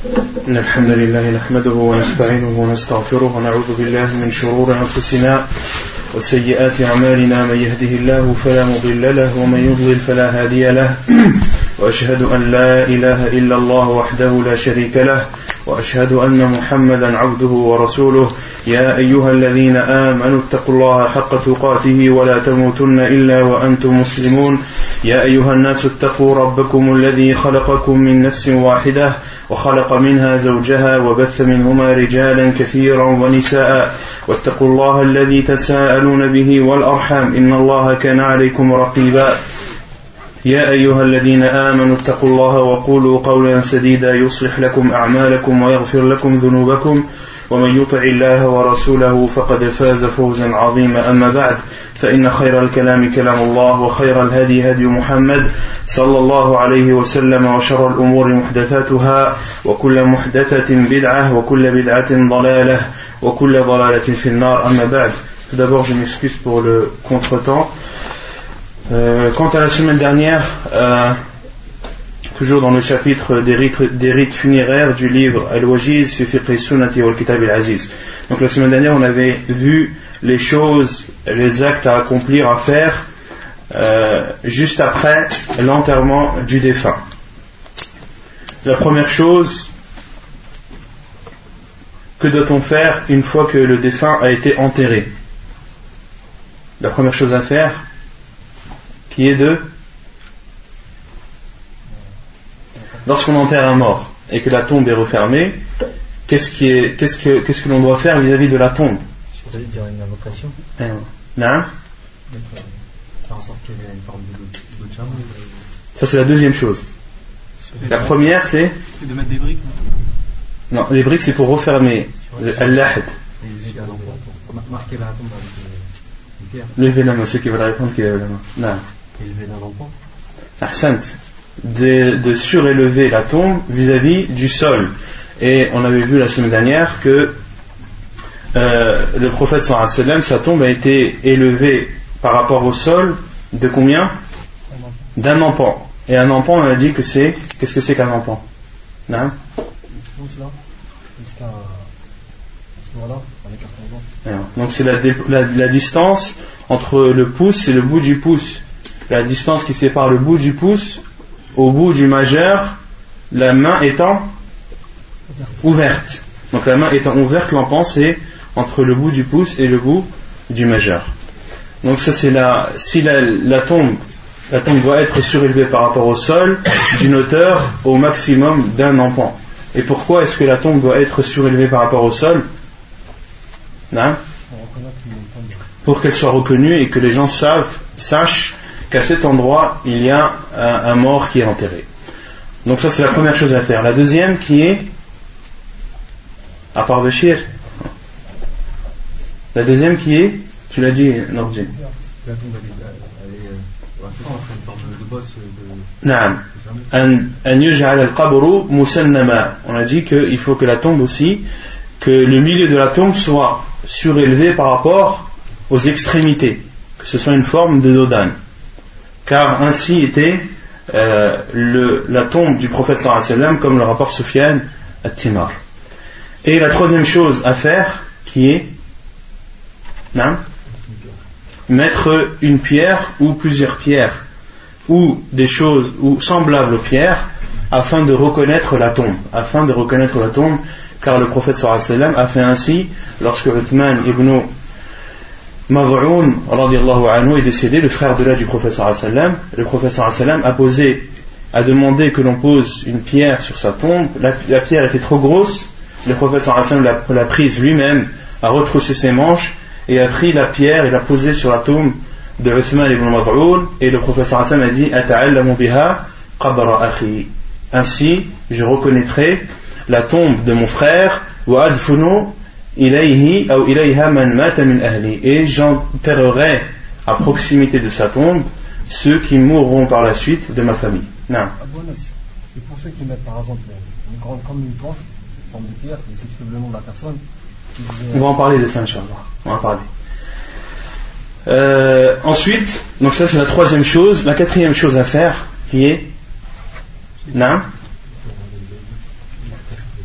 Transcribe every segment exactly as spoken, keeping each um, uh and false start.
إن الحمد لله نحمده ونستعينه ونستغفره ونعوذ بالله من شرور أنفسنا وسيئات أعمالنا من يهده الله فلا مضل له ومن يضلل فلا هادي له وأشهد أن لا إله إلا الله وحده لا شريك له وأشهد أن محمدا عبده ورسوله يا أيها الذين آمنوا اتقوا الله حق تقاته ولا تموتن إلا وأنتم مسلمون يا أيها الناس اتقوا ربكم الذي خلقكم من نفس واحدة وخلق منها زوجها وبث منهما رجالا كثيرا ونساء واتقوا الله الذي تساءلون به والأرحام إن الله كان عليكم رقيبا يا أيها الذين آمنوا اتقوا الله وقولوا قولا سديدا يصلح لكم أعمالكم ويغفر لكم ذنوبكم ومن يطع الله ورسوله فقد فاز فوزا عظيما أما بعد فإن خير الكلام كلام الله وخير الهدي هدي محمد صلى الله عليه وسلم وشر الأمور محدثاتها وكل محدثة بدعة وكل بدعة ضلالة وكل ضلالة في النار أما بعد. Tout d'abord je m'excuse pour le contretemps. Euh, quant à la semaine dernière, euh, toujours dans le chapitre des rites, des rites funéraires du livre Al-Wajiz fi fiqh sunnati wal kitab al-aziz. Donc la semaine dernière on avait vu les choses, les actes à accomplir, à faire euh, juste après l'enterrement du défunt. La première chose, que doit-on faire une fois que le défunt a été enterré? La première chose à faire, qui est de, lorsqu'on enterre un mort et que la tombe est refermée, qu'est-ce, qui est, qu'est-ce, que, qu'est-ce que l'on doit faire vis-à-vis de la tombe? Vous allez dire une invocation. Non. Faire en sorte qu'il y ait une forme de de chameau. Ça c'est la deuxième chose. La première c'est de mettre des briques. Non, les briques c'est pour refermer al-lahd. Marquer la tombe avec une pierre. Levez la main, ceux qui veulent répondre qui lèvent la main. Non. Élever d'un enfant. Ahsant. De, de surélever la tombe vis-à-vis du sol. Et on avait vu la semaine dernière que euh, le prophète sallallahu alayhi wa sallam, sa tombe a été élevée par rapport au sol de combien? D'un empan. Et un empan, on a dit que c'est, qu'est-ce que c'est qu'un empan? Non? Donc c'est la, la, la distance entre le pouce et le bout du pouce. La distance qui sépare le bout du pouce au bout du majeur, la main étant ouverte. Donc la main étant ouverte, l'empan c'est entre le bout du pouce et le bout du majeur. Donc ça c'est la, si la, la tombe, la tombe doit être surélevée par rapport au sol d'une hauteur au maximum d'un empan. Et pourquoi est-ce que la tombe doit être surélevée par rapport au sol? Non? Pour qu'elle soit reconnue et que les gens savent, sachent qu'à cet endroit il y a un, un mort qui est enterré. Donc ça c'est la première chose à faire. La deuxième qui est, à part Béchir, la deuxième qui est, tu l'as dit Nordji. La tombe elle est une forme de bosse de... Naam. An yuj'al al-qabru musannama. On a dit qu'il faut que la tombe aussi, que le milieu de la tombe soit surélevé par rapport aux extrémités, que ce soit une forme de dodan. Car ainsi était euh, le, la tombe du prophète sallallahu alayhi wa sallam, comme le rapporte Sufyan at-Timar. Et la troisième chose à faire, qui est non, mettre une pierre ou plusieurs pierres ou des choses ou semblables aux pierres afin de reconnaître la tombe, afin de reconnaître la tombe, car le prophète sallallahu alayhi wa sallam a fait ainsi lorsque Uthman ibn Mad'un radiyallahu anhu est décédé, le frère de l'âge du prophète sallallahu alayhi wa sallam. Le prophète sallallahu alayhi wa sallam a posé, a demandé que l'on pose une pierre sur sa tombe. La, la pierre était trop grosse. Le prophète sallallahu alayhi wa sallam l'a, l'a prise lui-même, a retroussé ses manches et a pris la pierre et l'a posée sur la tombe de Uthman ibn Mad'un. Et le prophète sallallahu alayhi wa sallam a dit: Ata'allamu biha qabra akhi. Ainsi, je reconnaîtrai la tombe de mon frère. Wa adfunu ilayhi ou ilayha man mata min ahli. Et j'enterrerai à proximité de sa tombe ceux qui mourront par la suite de ma famille. Non. Et pour ceux qui mettent par exemple une grande, comme une planche, une forme de pierre, qui s'exprime le nom de la personne. On va en parler de ça, Inch'Allah. On va en parler. Euh, ensuite, donc ça c'est la troisième chose. La quatrième chose à faire, qui est non.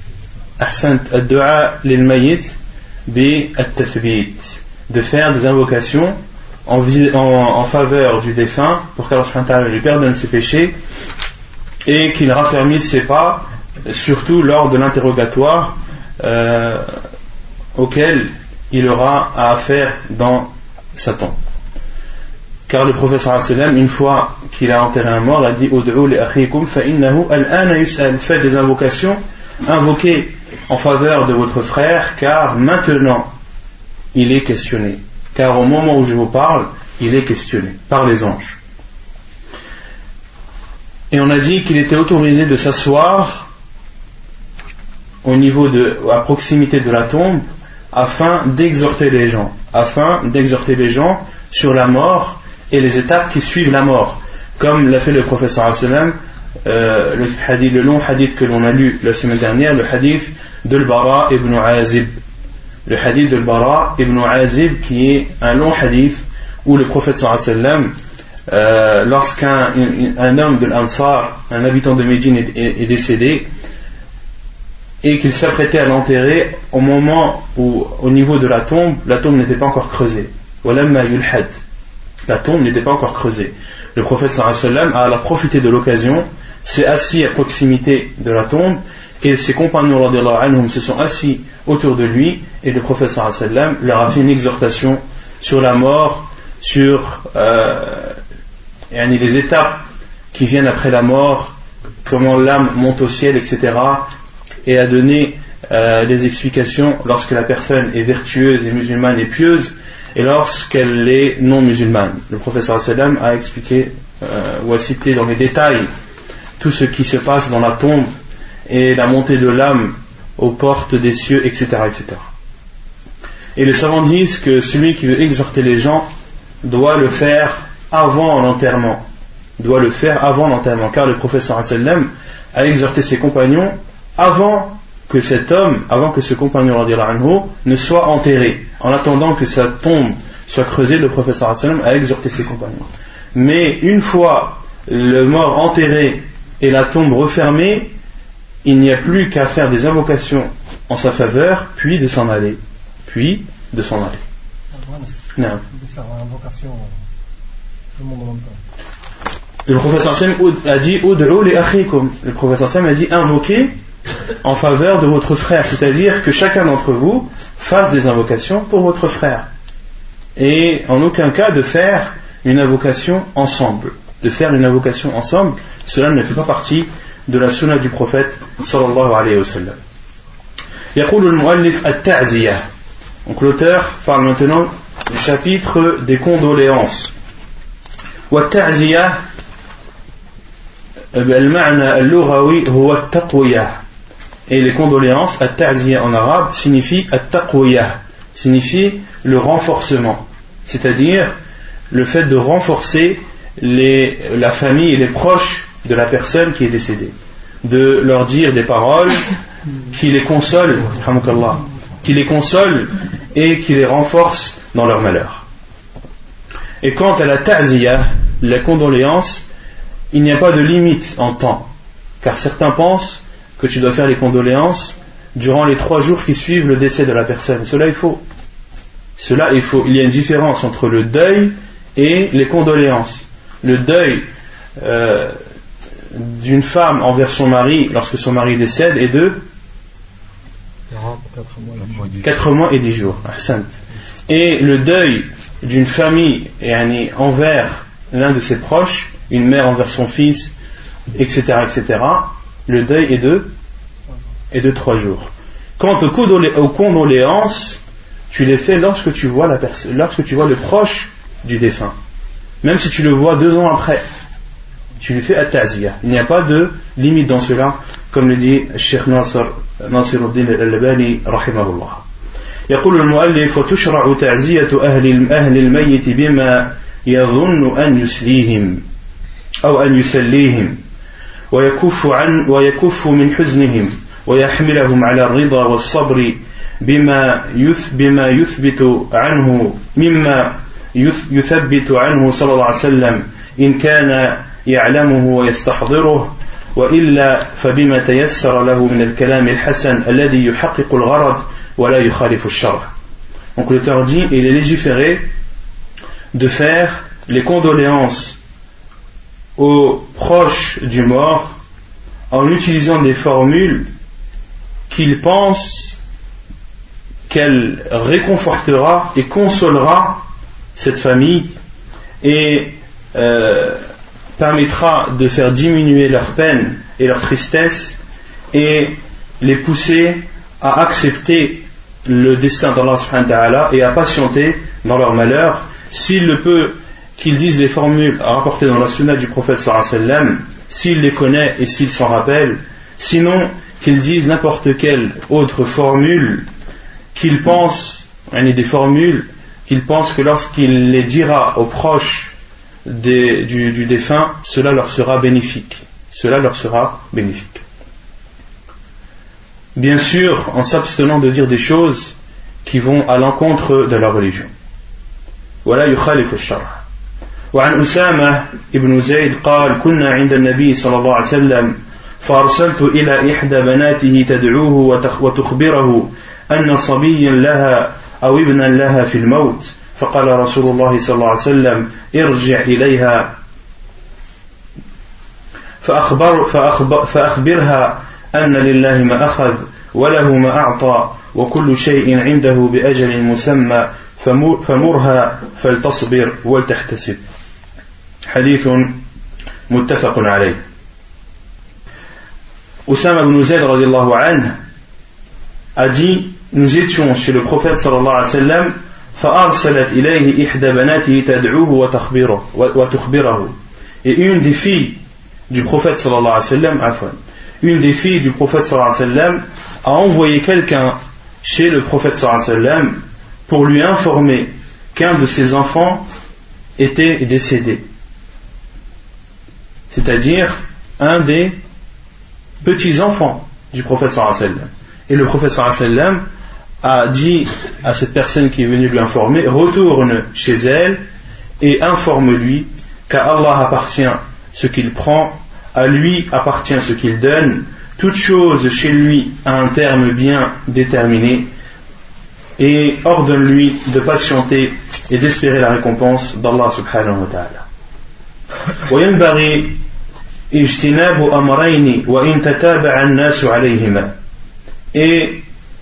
ahsant ad-du'a lil mayyit bi at-tathbit, de faire des invocations en, en, en faveur du défunt pour qu'Allah subhanahu wa ta'ala lui pardonne ses péchés et qu'il raffermisse ses pas, surtout lors de l'interrogatoire euh, auquel il aura à faire dans sa tombe. Car le prophète sallallahu alayhi wa sallam, une fois qu'il a enterré un mort, a dit Ud'u li akhikum fa innahu al-ana yus'al, faites des invocations, invoquez en faveur de votre frère, car maintenant il est questionné. Car au moment où je vous parle, il est questionné par les anges. Et on a dit qu'il était autorisé de s'asseoir au niveau de, à proximité de la tombe, afin d'exhorter les gens, afin d'exhorter les gens sur la mort et les étapes qui suivent la mort, comme l'a fait le prophète sallallahu alayhi wa sallam, euh, le, hadith, le long hadith que l'on a lu la semaine dernière, le hadith de Al-Bara ibn Azib, le hadith de Al-Bara ibn Azib, qui est un long hadith où le prophète sallallahu alayhi wa sallam, euh, lorsqu'un un, un homme de l'Ansar, un habitant de Médine est, est, est décédé et qu'il s'apprêtait à l'enterrer, au moment où au niveau de la tombe, la tombe n'était pas encore creusée. Walamma yulhad, la tombe n'était pas encore creusée. Le prophète sallallahu alayhi wa sallam a profité de l'occasion, s'est assis à proximité de la tombe, et ses compagnons radiyallahu anhum se sont assis autour de lui, et le prophète sallallahu alayhi wa sallam leur a fait une exhortation sur la mort, sur euh, les étapes qui viennent après la mort, comment l'âme monte au ciel, et cetera, et a donné euh, les explications lorsque la personne est vertueuse et musulmane et pieuse, et lorsqu'elle est non musulmane. Le prophète sallallahu alayhi wa sallam a expliqué euh, ou a cité dans les détails tout ce qui se passe dans la tombe et la montée de l'âme aux portes des cieux, et cetera, et cetera. Et les savants disent que celui qui veut exhorter les gens doit le faire avant l'enterrement, doit le faire avant l'enterrement, car le prophète sallallahu alayhi wa sallam a exhorté ses compagnons avant que cet homme, avant que ce compagnon radiyallahu anhu ne soit enterré. En attendant que sa tombe soit creusée, le prophète sallallahu alayhi wa sallam a exhorté ses compagnons. Mais une fois le mort enterré et la tombe refermée, il n'y a plus qu'à faire des invocations en sa faveur, puis de s'en aller. Puis de s'en aller. Non. De faire l'invocation tout le monde en même temps. Le prophète sallallahu alayhi wa sallam a dit Ud'u li akhikum. Le prophète sallallahu alayhi wa sallam a dit invoquez en faveur de votre frère, c'est-à-dire que chacun d'entre vous fasse des invocations pour votre frère, et en aucun cas de faire une invocation ensemble, de faire une invocation ensemble, cela ne fait pas partie de la sunna du prophète sallallahu alayhi wa sallam. يقول المؤلف التعزية. Donc l'auteur parle maintenant du chapitre des condoléances. والتعزية المعنى اللغوي هو التقوية. Et les condoléances, at-ta'ziya en arabe, signifie at-taqwiya, signifie le renforcement, c'est-à-dire le fait de renforcer les, la famille et les proches de la personne qui est décédée, de leur dire des paroles qui les consolent, qui les consolent et qui les renforcent dans leur malheur. Et quant à la ta'ziya, la condoléance, il n'y a pas de limite en temps, car certains pensent que tu dois faire les condoléances durant les trois jours qui suivent le décès de la personne. Cela est faux. Cela est faux. Il y a une différence entre le deuil et les condoléances. Le deuil euh, d'une femme envers son mari lorsque son mari décède est de quatre mois et dix jours. Et le deuil d'une famille envers l'un de ses proches, une mère envers son fils, et cetera, et cetera, le deuil est de, est de trois jours. Quant aux, condolé- aux condoléances, tu les fais lorsque tu vois la pers- lorsque tu vois le proche du défunt. Même si tu le vois deux ans après, tu lui fais at-ta'ziya. Il n'y a pas de limite dans cela, comme le dit Cheikh Nasr Nasiruddin al-Albani rahimahullah. يقول المؤلف وتشرع تعزية أهل أهل الميت بما يظن أن يسليهم أو أن يسليهم ويكف عن ويكف من حزنهم ويحملهم على الرضا والصبر بما يث بما يثبت عنه مما يثبت عنه صلى الله عليه وسلم إن كان يعلمه ويستحضره وإلا فبما تيسر له من الكلام الحسن الذي يحقق الغرض ولا يخالف الشرع. Donc l'auteur dit, il est légiféré de faire les condoléances aux proches du mort en utilisant des formules qu'il pense qu'elle réconfortera et consolera cette famille et euh, permettra de faire diminuer leur peine et leur tristesse et les pousser à accepter le destin d'Allah subhanahu wa ta'ala et à patienter dans leur malheur. S'il le peut, qu'ils disent les formules rapportées dans la sunna du prophète sallallahu alayhi wa sallam, s'il les connaît et s'il s'en rappelle, sinon qu'ils disent n'importe quelle autre formule qu'il pense, des formules qu'il pense que lorsqu'il les dira aux proches des, du, du défunt, cela leur sera bénéfique. Cela leur sera bénéfique. Bien sûr, en s'abstenant de dire des choses qui vont à l'encontre de la religion. ولا يخالف الشرع. وعن أسامة ابن زيد قال كنا عند النبي صلى الله عليه وسلم فأرسلت إلى إحدى بناته تدعوه وتخبره أن صبيا لها أو ابنا لها في الموت فقال رسول الله صلى الله عليه وسلم ارجع إليها فأخبر فأخبر فأخبرها أن لله ما أخذ وله ما أعطى وكل شيء عنده بأجل مسمى فمرها فلتصبر ولتحتسب. حديث متفق عليه. Usama ibn Zayd radiyallahu anhu a dit, nous étions chez le prophète sallallahu alayhi wa sallam, فأرسلت إليه إحدى بناته تدعوه وتخبره. Et une des filles du prophète sallallahu alayhi wa sallam, afwan, une des filles du prophète sallallahu alayhi wa sallam a envoyé quelqu'un chez le prophète sallallahu alayhi wa sallam pour lui informer qu'un de ses enfants était décédé. C'est-à-dire un des petits-enfants du prophète sallallahu alayhi wa sallam. Et le prophète sallallahu alayhi wa sallam a dit à cette personne qui est venue lui informer, retourne chez elle et informe-lui qu'à Allah appartient ce qu'il prend, à lui appartient ce qu'il donne, toute chose chez lui a un terme bien déterminé, et ordonne-lui de patienter et d'espérer la récompense d'Allah subhanahu wa ta'ala. وينبغي اجتناب أمرين وإن تتابع الناس عليهما. Et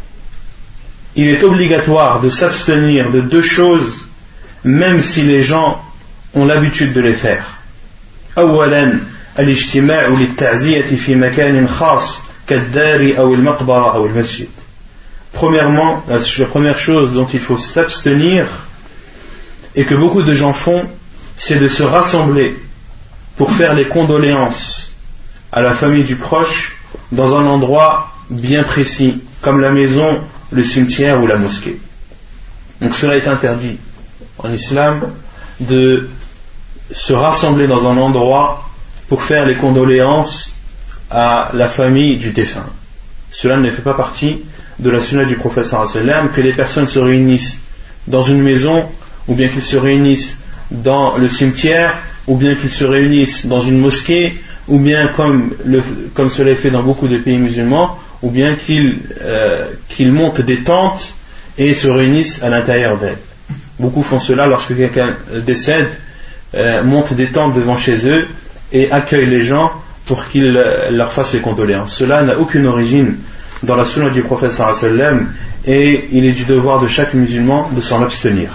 il est obligatoire de s'abstenir de deux choses même si les gens ont l'habitude de les faire. أولا الاجتماع للتعزية في مكان خاص كالدار أو المقبرة أو المسجد. Premièrement, la, la première chose dont il faut s'abstenir et que beaucoup de gens font, c'est de se rassembler pour faire les condoléances à la famille du proche dans un endroit bien précis, comme la maison, le cimetière ou la mosquée. Donc cela est interdit en islam de se rassembler dans un endroit pour faire les condoléances à la famille du défunt. Cela ne fait pas partie de la sunna du prophète sallallahu alayhi wa sallam, que les personnes se réunissent dans une maison, ou bien qu'ils se réunissent dans le cimetière, ou bien qu'ils se réunissent dans une mosquée, ou bien comme, le, comme cela est fait dans beaucoup de pays musulmans, ou bien qu'ils, euh, qu'ils montent des tentes et se réunissent à l'intérieur d'elles. Beaucoup font cela lorsque quelqu'un décède, euh, montent des tentes devant chez eux et accueillent les gens pour qu'ils leur fassent les condoléances. Cela n'a aucune origine dans la sunna du prophète sallallahu alayhi wa sallam et il est du devoir de chaque musulman de s'en abstenir.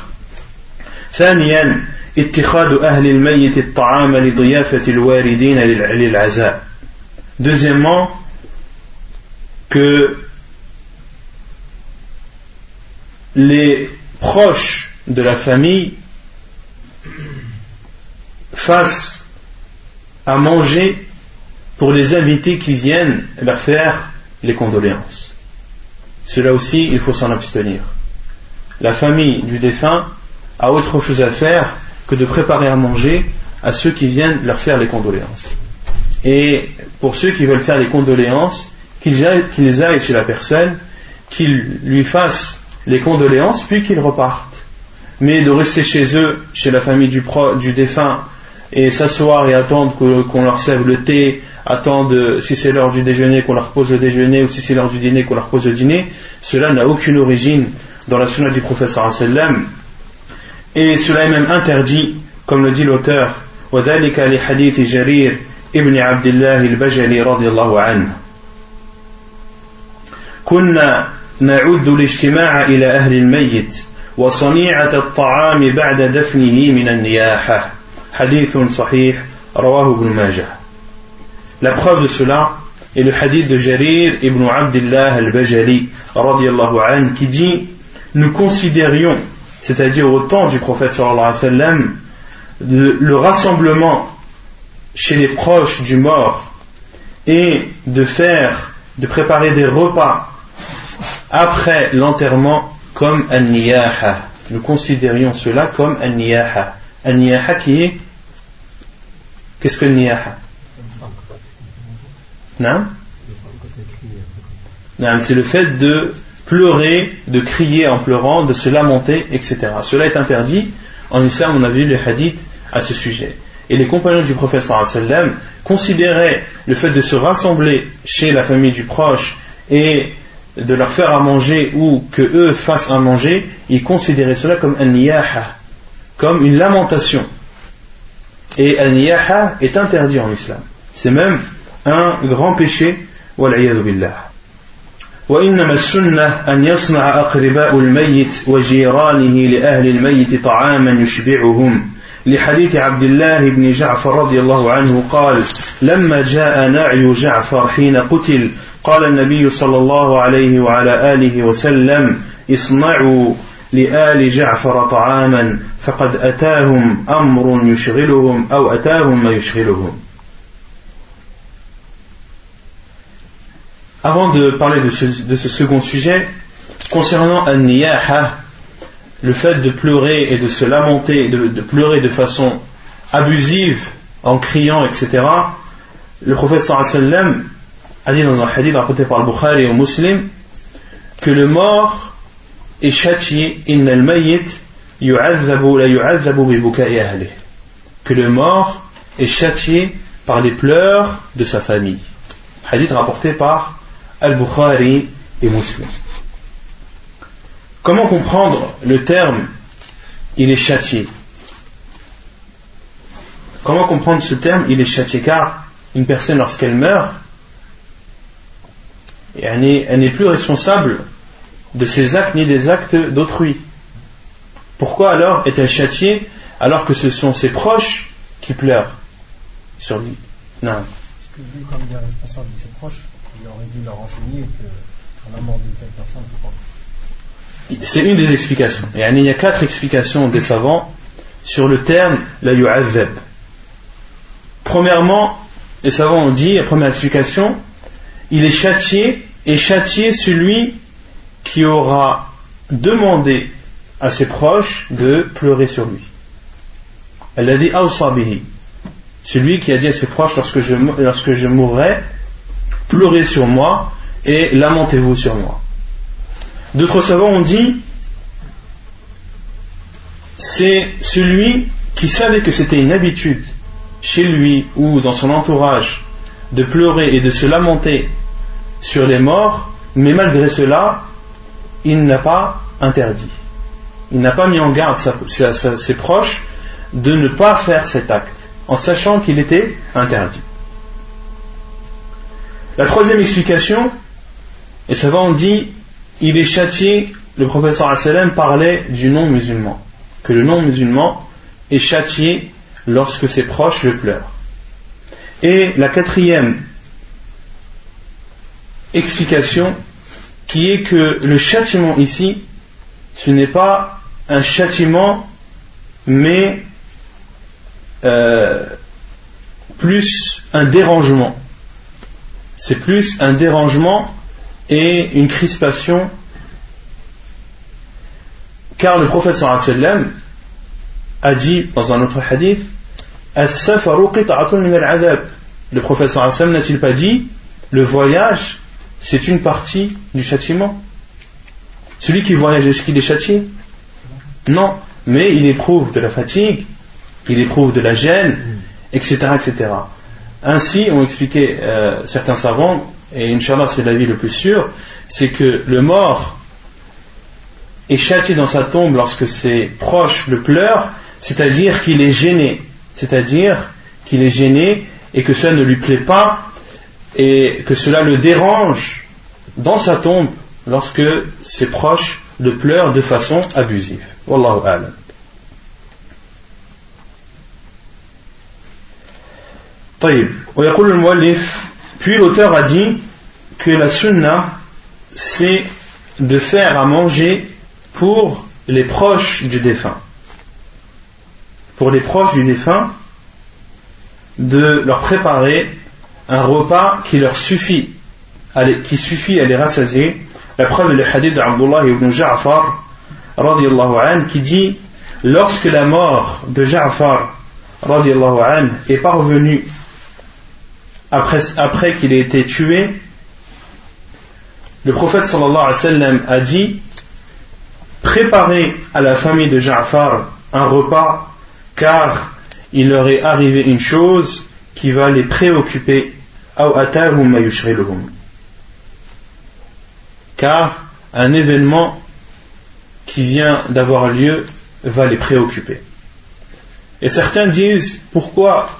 ثانيا اتخاذ أهل الميت الطعام لضيافة الواردين للعزاء. Deuxièmement, que les proches de la famille fassent à manger pour les invités qui viennent leur faire les condoléances. Cela aussi, il faut s'en abstenir. La famille du défunt a autre chose à faire que de préparer à manger à ceux qui viennent leur faire les condoléances. Et pour ceux qui veulent faire les condoléances, qu'ils aillent, qu'ils aillent chez la personne, qu'ils lui fassent les condoléances, puis qu'ils repartent. Mais de rester chez eux, chez la famille du, pro, du défunt, et s'asseoir et attendre que, qu'on leur serve le thé, attendent, si c'est l'heure du déjeuner, qu'on leur pose le déjeuner, ou si c'est l'heure du dîner, qu'on leur pose le dîner. Cela n'a aucune origine dans la sunna du prophète sallallahu alayhi wa sallam. Et cela est même interdit, comme le dit l'auteur, وَذَلِكَ لِحَدِيثِ جَرِيرٍ ابن عبد الله البجلي رضي الله عنه كنا نعد الاجتماع إلى أهل الميت وصنيعة الطعام بعد دفنه من النياحة حديث صحيح رواه ابن ماجه. La preuve de cela est le hadith de Jarir ibn Abdullah al-Bajali radiyallahu anhu qui dit: nous considérions, c'est-à-dire au temps du prophète sallallahu alayhi wa sallam, le, le rassemblement chez les proches du mort et de faire, de préparer des repas après l'enterrement comme an-niyaha. Nous considérions cela comme an-niyaha. An-niyaha qui est, qu'est-ce que an-niyaha? Non? Non, c'est le fait de pleurer, de crier en pleurant, de se lamenter, et cetera. Cela est interdit. En islam, on a vu les hadiths à ce sujet. Et les compagnons du prophète sallallahu alayhi wa sallam considéraient le fait de se rassembler chez la famille du proche et de leur faire à manger ou que eux fassent à manger, ils considéraient cela comme un niyaha, comme une lamentation. Et un niyaha est interdit en islam. C'est même un grand péché. Wal-'iyadhu billah. وإنما السنة أن يصنع أقرباء الميت وجيرانه لأهل الميت طعاما يشبعهم لحديث عبد الله بن جعفر رضي الله عنه قال: لما جاء نعي جعفر حين قتل قال النبي صلى الله عليه وعلى آله وسلم: اصنعوا لآل جعفر طعاما فقد أتاهم أمر يشغلهم أو أتاهم ما يشغلهم. Avant de parler de ce, de ce second sujet, concernant an-niyaha, le fait de pleurer et de se lamenter, de, de pleurer de façon abusive, en criant, et cetera, le prophète sallallahu alayhi wa sallam a dit dans un hadith rapporté par le Bukhari et au Muslim que le mort est châtié, inna al-mayyit yu'adhabu la yu'adhabu bi buka'i ahlihi, que le mort est châtié par les pleurs de sa famille. Hadith rapporté par Al-Bukhari et Muslim. Comment comprendre le terme il est châtié? Comment comprendre ce terme il est châtié? Car une personne, lorsqu'elle meurt, elle n'est, elle n'est plus responsable de ses actes ni des actes d'autrui. Pourquoi alors est-elle châtiée alors que ce sont ses proches qui pleurent sur lui? Non. Parce que lui, comme il est responsable de ses proches, il aurait dû leur enseigner qu'à la mort d'une telle personne, c'est une des explications. Et il y a quatre explications des savants sur le terme la yu'adhab. Premièrement, les savants ont dit, la première explication, il est châtié, et châtié celui qui aura demandé à ses proches de pleurer sur lui. Elle a dit awsa bihi, celui qui a dit à ses proches lorsque je, lorsque je mourrai, pleurez sur moi et lamentez-vous sur moi. D'autres savants ont dit c'est celui qui savait que c'était une habitude chez lui ou dans son entourage de pleurer et de se lamenter sur les morts, mais malgré cela il n'a pas interdit, il n'a pas mis en garde sa, sa, sa, ses proches de ne pas faire cet acte en sachant qu'il était interdit. La troisième explication, les savants ont dit il est châtié, le prophète sallallahu alayhi wa sallam parlait du non-musulman, que le non-musulman est châtié lorsque ses proches le pleurent. Et la quatrième explication, qui est que le châtiment ici, ce n'est pas un châtiment, mais euh, plus un dérangement. C'est plus un dérangement et une crispation, car le prophète sallallahu alayhi wa sallam a dit dans un autre hadith as-safaru qit'atun min al-'adab. Le prophète sallallahu alayhi wa sallam n'a-t-il pas dit le voyage c'est une partie du châtiment? Celui qui voyage, est-ce qu'il est châtié? Non, mais il éprouve de la fatigue, il éprouve de la gêne, etc., etc. Ainsi ont expliqué euh, certains savants, et Inch'Allah c'est l'avis le plus sûr, c'est que le mort est châtié dans sa tombe lorsque ses proches le pleurent, c'est-à-dire qu'il est gêné, c'est-à-dire qu'il est gêné et que cela ne lui plaît pas et que cela le dérange dans sa tombe lorsque ses proches le pleurent de façon abusive. Wallahu a'lam. طيب. ويقول المؤلف, puis l'auteur a dit que la sunna c'est de faire à manger pour les proches du défunt. Pour les proches du défunt, de leur préparer un repas qui leur suffit, à les, qui suffit à les rassasier. La preuve est le hadith d'Abdullah ibn Ja'far, radiyallahu anhu, qui dit, lorsque la mort de Ja'far, radiyallahu anhu, est parvenue après, après qu'il ait été tué, le prophète sallallahu alayhi wa sallam a dit, préparez à la famille de Ja'far un repas, car il leur est arrivé une chose qui va les préoccuper, car un événement qui vient d'avoir lieu va les préoccuper. Et certains disent, pourquoi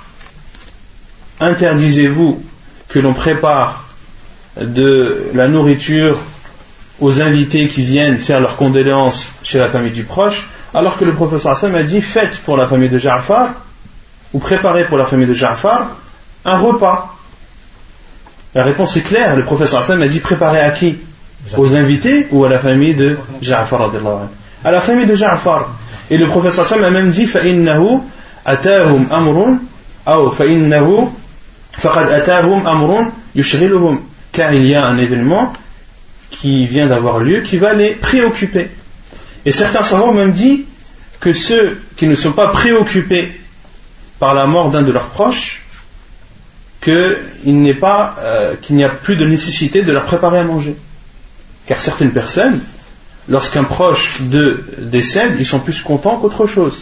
interdisez-vous que l'on prépare de la nourriture aux invités qui viennent faire leurs condoléances chez la famille du proche, alors que le professeur Hassan a dit, faites pour la famille de Ja'far, ou préparez pour la famille de Ja'far un repas. La réponse est claire, le professeur Hassan a dit, préparez à qui? Aux invités ou à la famille de Ja'far? À la famille de Ja'far. Et le professeur Hassan a même dit, فَإِنَّهُ أَتَاهُمْ أَمْرٌ أو فَإِنَّهُ فَقَدْ أَتَاهُمْ أَمْرٌ يُشْغِلُهُمْ, car il y a un événement qui vient d'avoir lieu, qui va les préoccuper. Et certains savants ont même dit que ceux qui ne sont pas préoccupés par la mort d'un de leurs proches, qu'il n'est pas, euh, qu'il n'y a plus de nécessité de leur préparer à manger. Car certaines personnes, lorsqu'un proche d'eux décède, ils sont plus contents qu'autre chose.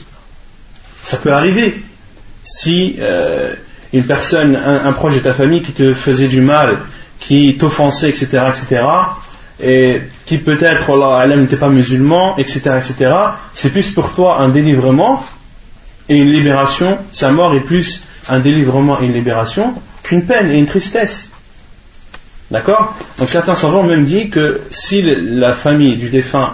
Ça peut arriver. Si euh, une personne, un, un proche de ta famille qui te faisait du mal, qui t'offensait, et cetera, et cetera, et qui peut-être, Allah n'était pas musulman, et cetera, et cetera, c'est plus pour toi un délivrement et une libération. Sa mort est plus un délivrement et une libération qu'une peine et une tristesse. D'accord? Donc certains savants ont même dit que si la famille du défunt,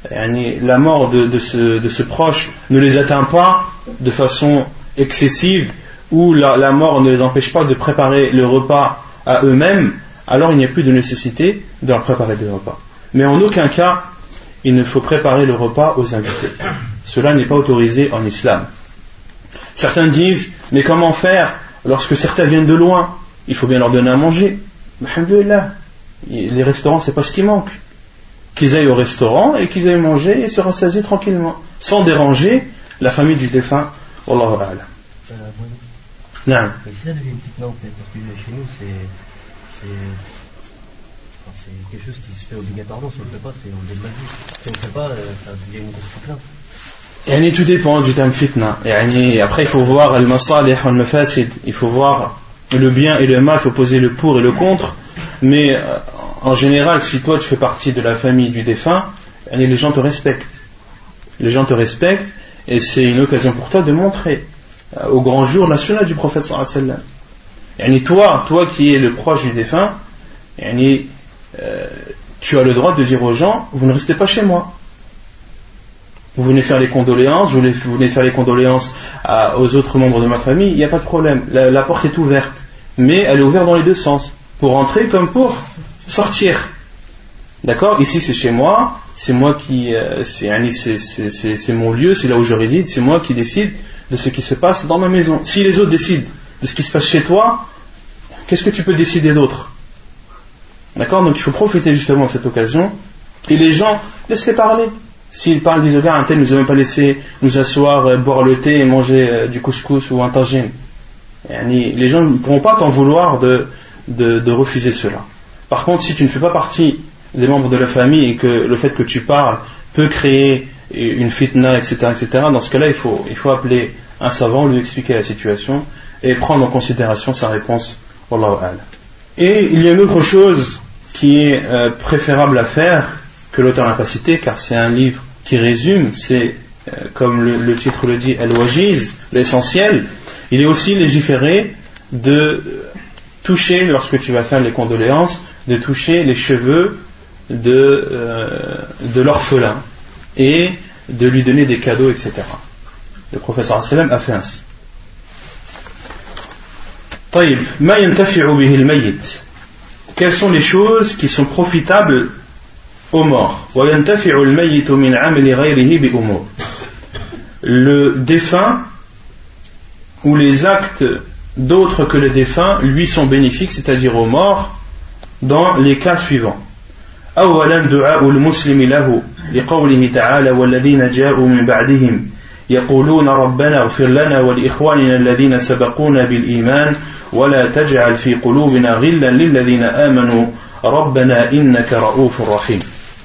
la mort de, de, ce, de ce proche ne les atteint pas de façon excessive, ou la, la mort ne les empêche pas de préparer le repas à eux-mêmes, alors il n'y a plus de nécessité de leur préparer des repas. Mais en aucun cas, il ne faut préparer le repas aux invités. Cela n'est pas autorisé en islam. Certains disent, mais comment faire lorsque certains viennent de loin? Il faut bien leur donner à manger. Alhamdulillah, les restaurants, c'est pas ce qui manque. Qu'ils aillent au restaurant et qu'ils aillent manger et se rassasier tranquillement, sans déranger la famille du défunt. Wallahu a'lam. Euh, oui. Non. Mais ça devient une petite non, peut-être, parce que chez nous, c'est, c'est, enfin, c'est quelque chose qui se fait obligatoirement. Si on ne le fait pas, c'est on le mal vu. Si on ne le fait pas, ça devient une grosse fitna. Yani, tout dépend du terme fitna. Yani, après, il faut voir al-masalih wa al-mafasid. Il faut voir le bien et le mal, il faut poser le pour et le contre. Mais euh, en général, si toi tu fais partie de la famille du défunt, yani, les gens te respectent. Les gens te respectent et c'est une occasion pour toi de montrer euh, au grand jour la sunna du prophète sallallahu alayhi wa sallam. Yani, toi, toi qui es le proche du défunt, yani, euh, tu as le droit de dire aux gens, vous ne restez pas chez moi. Vous venez faire les condoléances, vous venez faire les condoléances à, aux autres membres de ma famille, il n'y a pas de problème. La, la porte est ouverte, mais elle est ouverte dans les deux sens, pour entrer comme pour sortir. D'accord? Ici c'est chez moi, c'est moi qui, euh, c'est, c'est, c'est, c'est, c'est mon lieu, c'est là où je réside, c'est moi qui décide de ce qui se passe dans ma maison. Si les autres décident de ce qui se passe chez toi, qu'est-ce que tu peux décider d'autre? D'accord? Donc il faut profiter justement de cette occasion, et les gens, laissez parler. S'ils parlent, disent, regarde, un tel nous a même pas laissé nous asseoir, euh, boire le thé et manger euh, du couscous ou un tagine. Les gens ne pourront pas t'en vouloir de, de, de refuser cela. Par contre, si tu ne fais pas partie des membres de la famille et que le fait que tu parles peut créer une fitna, et cetera, et cetera, dans ce cas-là, il faut, il faut appeler un savant, lui expliquer la situation et prendre en considération sa réponse. Wallahu a'lam. Et il y a une autre chose qui est euh, préférable à faire, que l'auteur n'a pas cité, car c'est un livre qui résume, c'est euh, comme le, le titre le dit, Al-Wajiz, l'essentiel. Il est aussi légiféré de toucher, lorsque tu vas faire les condoléances, de toucher les cheveux de, euh, de l'orphelin et de lui donner des cadeaux, et cetera. Le prophète sallallahu alayhi wa sallam a fait ainsi. طيب ما ينتفع به الميت. Quelles sont les choses qui sont profitables aux morts? وينتفع الميت من عمل غيره بأمور. Le défunt ou les actes d'autres que le défunt lui sont bénéfiques, c'est-à-dire aux morts, dans les cas suivants. أولا دعاء المسلم له لقوله تعالى والذين جاءوا من بعدهم يقولون ربنا اغفر لنا ولإخواننا الذين سبقونا بالإيمان ولا تجعل في قلوبنا غلا للذين آمنوا ربنا إنك رؤوف رحيم.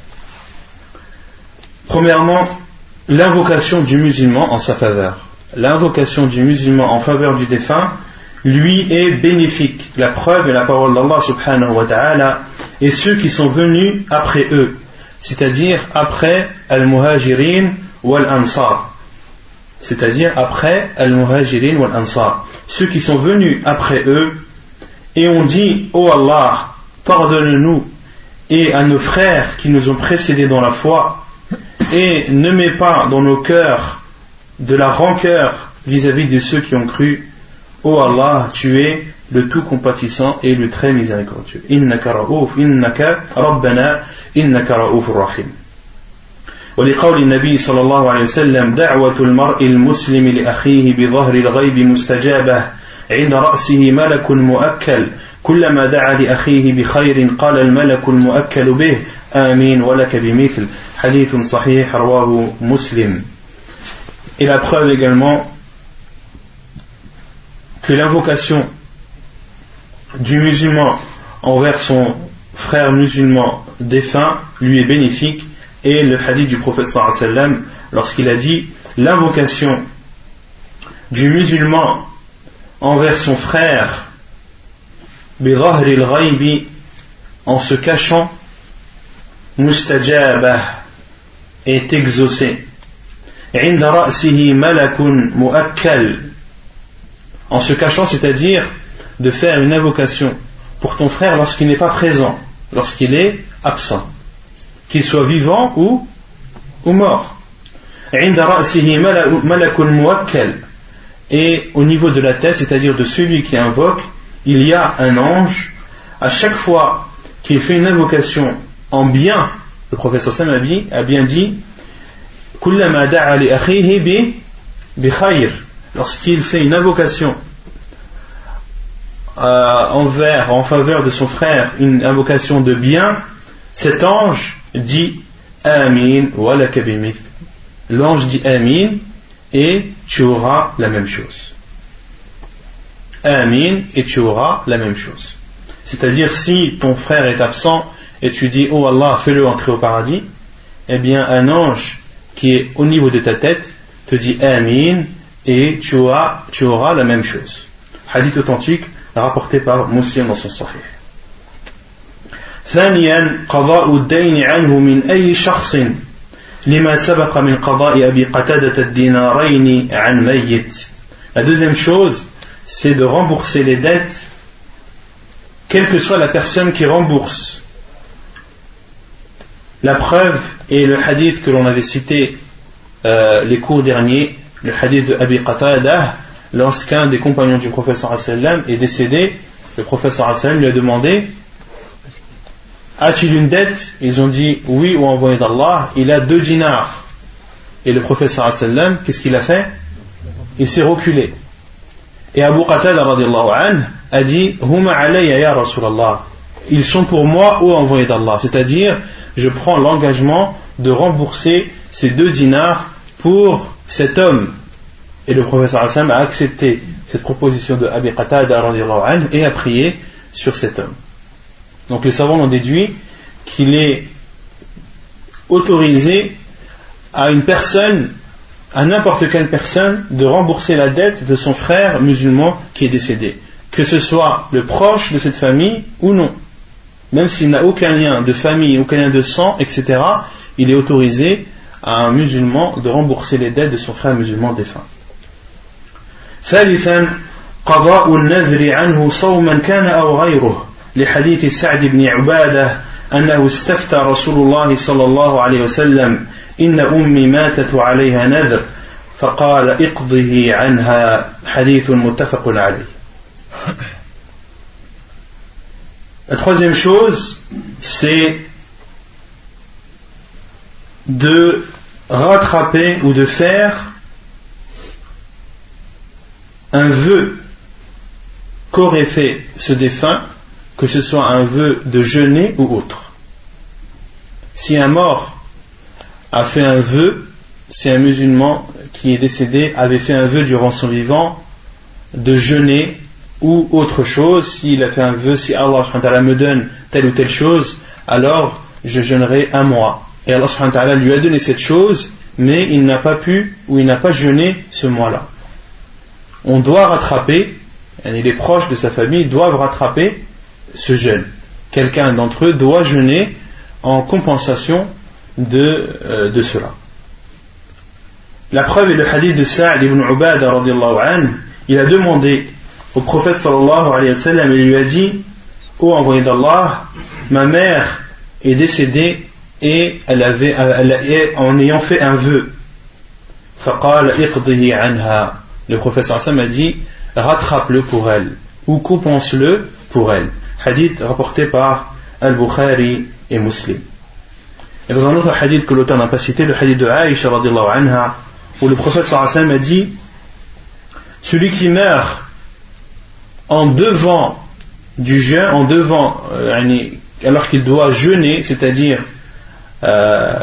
Premièrement, l'invocation du musulman en sa faveur. L'invocation du musulman en faveur du défunt lui est bénéfique. La preuve est la parole d'Allah subhanahu wa ta'ala et ceux qui sont venus après eux, c'est-à-dire après al-muhajirin wal-ansar, c'est-à-dire après al-muhajirin wal-ansar, ceux qui sont venus après eux et ont dit ô Allah, pardonne-nous et à nos frères qui nous ont précédés dans la foi et ne mets pas dans nos cœurs de la rancœur vis-à-vis de ceux qui ont cru. Ô Allah, tu es le tout compatissant et le très miséricordieux. Innaka ra'ouf, innaka rabbana, innaka ra'ouf rahim. ولقول النبي صلى الله عليه وسلم دعوة المرء المسلم لأخيه بظهر الغيب مستجابة عند رأسه ملك مؤكل كلما دعا لأخيه بخير قال الملك المؤكل به آمين ولك بمثل حديث صحيح رواه مسلم. Et la preuve également que l'invocation du musulman envers son frère musulman défunt lui est bénéfique, et le hadith du prophète sallallahu alayhi wa sallam lorsqu'il a dit l'invocation du musulman envers son frère bidhahri al-ghaybi, en se cachant, mustajabah, est exaucé. Inda ra'sihi malakun mu'akkal, en se cachant, c'est-à-dire de faire une invocation pour ton frère lorsqu'il n'est pas présent, lorsqu'il est absent, qu'il soit vivant ou, ou mort. Inda ra'sihi malakun mu'akkal, et au niveau de la tête, c'est-à-dire de celui qui invoque, il y a un ange. À chaque fois qu'il fait une invocation en bien, le prophète sallallahu alayhi wa sallam a bien dit kullama da'a li akhihi bi bi khayr, lorsqu'il fait une invocation euh, envers, en faveur de son frère, une invocation de bien, cet ange dit Amin wa laka bimith. L'ange dit Amin et tu auras la même chose. Amin et tu auras la même chose. C'est-à-dire, si ton frère est absent et tu dis oh Allah, fais-le entrer au paradis, eh bien un ange qui est au niveau de ta tête te dit Amin et tu auras, tu auras la même chose. Hadith authentique rapporté par Muslim dans son Sahih. ثانيا قضاء الدين عنه من أي شخص لما سبق من قضاء أبي قتادة الدينارين عن ميت. La deuxième chose, c'est de rembourser les dettes, quelle que soit la personne qui rembourse. La preuve est le hadith que l'on avait cité euh, les cours derniers, le hadith de Abi Qatada, lorsqu'un des compagnons du prophète sallallahu alayhi wa sallam est décédé, le prophète sallallahu alayhi wa sallam lui a demandé a-t-il une dette? Ils ont dit oui, ou envoyé d'Allah, il a deux dinars. Et le prophète sallallahu alayhi wa sallam, qu'est-ce qu'il a fait? Il s'est reculé. Et Abu Qatada radiallahu anhu a dit Huma alayya ya Rasulallah, ils sont pour moi, ô envoyé d'Allah, c'est-à-dire je prends l'engagement de rembourser ces deux dinars pour cet homme. Et le prophète sallallahu alayhi wa sallam a accepté cette proposition de Abi Qatada radiallahu anhu et a prié sur cet homme. Donc les savants ont déduit qu'il est autorisé à une personne à n'importe quelle personne de rembourser la dette de son frère musulman qui est décédé, que ce soit le proche de cette famille ou non. Même s'il n'a aucun lien de famille, aucun lien de sang, et cetera, il est autorisé à un musulman de rembourser les dettes de son frère musulman défunt. ثالثا قضاء النذر عنه صوما كان أو غيره لحديث سعد بن عبادة أنه استفتى رسول الله صلى الله عليه وسلم إن أمي ماتت عليها نذر فقال اقضه عنها حديث متفق عليه. La troisième chose, c'est de rattraper ou de faire un vœu qu'aurait fait ce défunt, que ce soit un vœu de jeûner ou autre. Si un mort a fait un vœu, si un musulman qui est décédé avait fait un vœu durant son vivant de jeûner ou autre chose, s'il a fait un vœu, si Allah subhanahu wa ta'ala me donne telle ou telle chose, alors je jeûnerai un mois. Et Allah subhanahu wa ta'ala lui a donné cette chose, mais il n'a pas pu ou il n'a pas jeûné ce mois-là. On doit rattraper, et les proches de sa famille doivent rattraper ce jeûne. Quelqu'un d'entre eux doit jeûner en compensation de, euh, de cela. La preuve est le hadith de Sa'd ibn Ubadah radiyallahu anhu. Il a demandé au prophète sallallahu alayhi wa sallam, il lui a dit: ô envoyé d'Allah, ma mère est décédée et elle avait, elle, en ayant fait un vœu. فقال اقضه عنها. Le prophète sallallahu alayhi wa sallam a dit: rattrape-le pour elle ou compense-le pour elle. Hadith rapporté par Al-Bukhari et Muslim. Et dans un autre hadith que l'auteur n'a pas cité, le hadith de Aïcha radiyallahu anha, où le prophète sallallahu alayhi wa sallam a dit: celui qui meurt en devant du jeûne, en devant euh, alors qu'il doit jeûner, c'est-à-dire euh,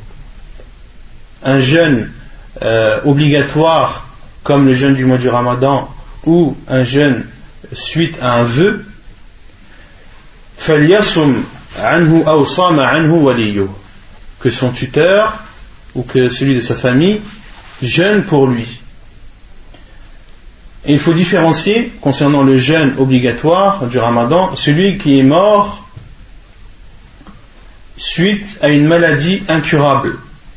un jeûne euh, obligatoire comme le jeûne du mois du Ramadan ou un jeûne suite à un vœu, فَلْيَصُمْ عَنْهُ أَوْ صَامَ عَنْهُ وَلِيُّهُ, que son tuteur ou que celui de sa famille jeûne pour lui. Et il faut différencier concernant le jeûne obligatoire du Ramadan, celui qui est mort suite à une maladie incurable,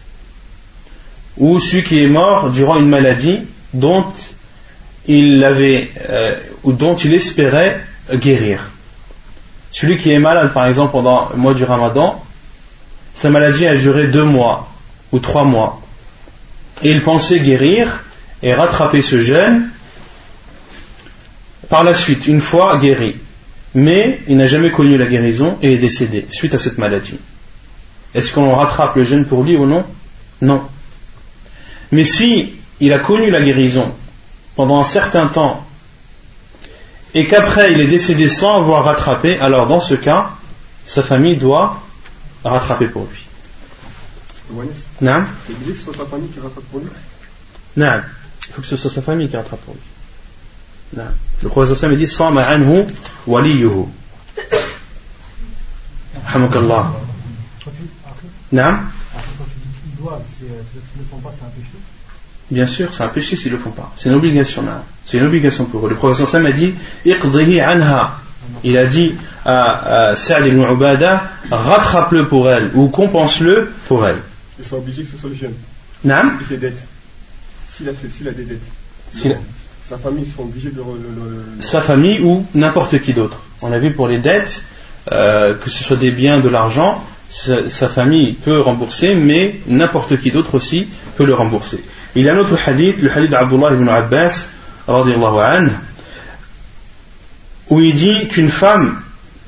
ou celui qui est mort durant une maladie dont il avait euh, ou dont il espérait guérir. Celui qui est malade par exemple pendant le mois du Ramadan, sa maladie a duré deux mois ou trois mois et il pensait guérir et rattraper ce jeûne par la suite, une fois guéri, mais il n'a jamais connu la guérison et est décédé suite à cette maladie. Est-ce qu'on rattrape le jeûne pour lui ou non? Non. Mais si il a connu la guérison pendant un certain temps et qu'après il est décédé sans avoir rattrapé, alors dans ce cas, sa famille doit rattraper pour lui. Non. C'est obligé que ce soit sa famille qui rattrape pour lui? Non. Il faut que ce soit sa famille qui rattrape pour lui. Non. Le prophète sallallahu alayhi wa sallam dit: Sama anhu waliyuhu. Alhamdulillah. Non. Ils doivent, s'ils ne le font pas, c'est un péché? Bien sûr, c'est un péché s'ils ne le font pas. C'est une obligation là. C'est une obligation pour eux. Le prophète sallallahu alayhi wa sallam a dit: Iqdihi anha. Il a dit à, à Sa'd ibn Ubadah: rattrape-le pour elle ou compense-le pour elle. Ils sont obligés que ce soit le jeune. Non. Et ses dettes. S'il a, s'il a des dettes. S'il a... Sa famille sont obligés de le, le, le... Sa famille ou n'importe qui d'autre. On a vu pour les dettes, euh, que ce soit des biens, de l'argent, sa, sa famille peut rembourser, mais n'importe qui d'autre aussi peut le rembourser. Il y a un autre hadith, le hadith d'Abdullah ibn Abbas, radiyallahu anhu, où il dit qu'une femme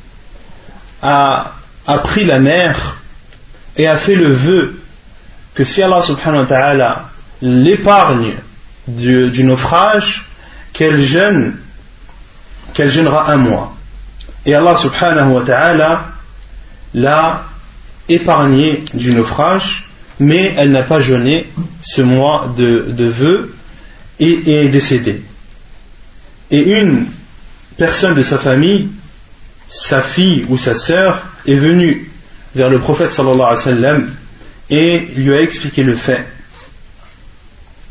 a, a pris la mer et a fait le vœu que si Allah subhanahu wa ta'ala l'épargne du, du naufrage, qu'elle jeûne, qu'elle jeûnera un mois. Et Allah subhanahu wa ta'ala l'a épargnée du naufrage, mais elle n'a pas jeûné ce mois de, de vœu et, et est décédée. Et une personne de sa famille, sa fille ou sa sœur, est venue vers le prophète sallallahu alayhi wa sallam et lui a expliqué le fait.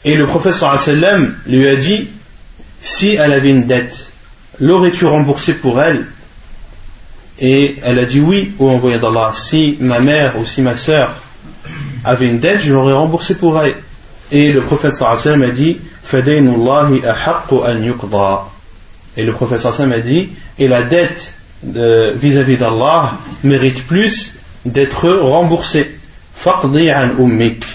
Et le prophète sallallahu alayhi wa sallam lui a dit, si elle avait une dette, l'aurais-tu remboursée pour elle? Et elle a dit oui, ô envoyé d'Allah, si ma mère ou si ma sœur avait une dette, je l'aurais remboursée pour elle. Et le prophète sallallahu alayhi wa sallam a dit, fadaynullahi ahaqqu an yuqda. Et le prophète sallallahu alayhi wa sallam a dit, et la dette de, vis-à-vis d'Allah mérite plus d'être remboursée. Faqdi an ummik.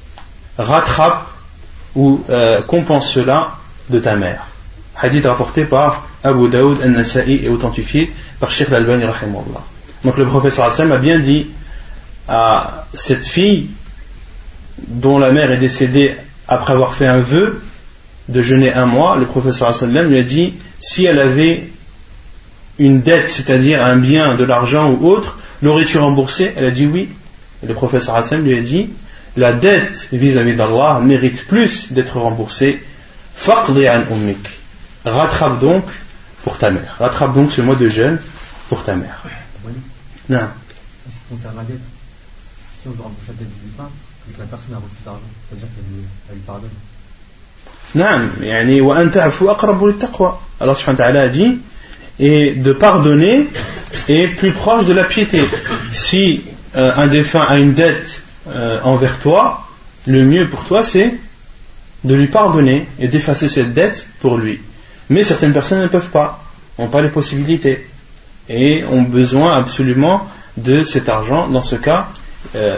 Rattrape ou euh, compense cela de ta mère. Hadith rapporté par Abu Daoud al-Nasa'i et authentifié par Sheikh al-Albani rahimahullah. Donc le prophète sallallahu alayhi wa sallam a bien dit à cette fille dont la mère est décédée après avoir fait un vœu de jeûner un mois, le prophète sallallahu alayhi wa sallam lui a dit, si elle avait une dette, c'est-à-dire un bien, de l'argent ou autre, l'aurais-tu remboursé? Elle a dit oui. Et le prophète sallallahu alayhi wa sallam lui a dit, la dette vis-à-vis d'Allah mérite plus d'être remboursée. Faqdi an ummik. Rattrape donc pour ta mère. Rattrape donc ce mois de jeûne pour ta mère. Non. En ce qui concerne la dette, si on doit rembourser la dette du pain, c'est que la personne a reçu d'argent, c'est-à-dire qu'elle lui, elle lui pardonne. Non, yani wa anta afu aqrabu lit-taqwa. Allah subhanahu wa ta'ala a dit, et de pardonner est plus proche de la piété. Si euh, un défunt a une dette euh, envers toi, le mieux pour toi c'est de lui pardonner et d'effacer cette dette pour lui. Mais certaines personnes ne peuvent pas, n'ont pas les possibilités et ont besoin absolument de cet argent. Dans ce cas, euh,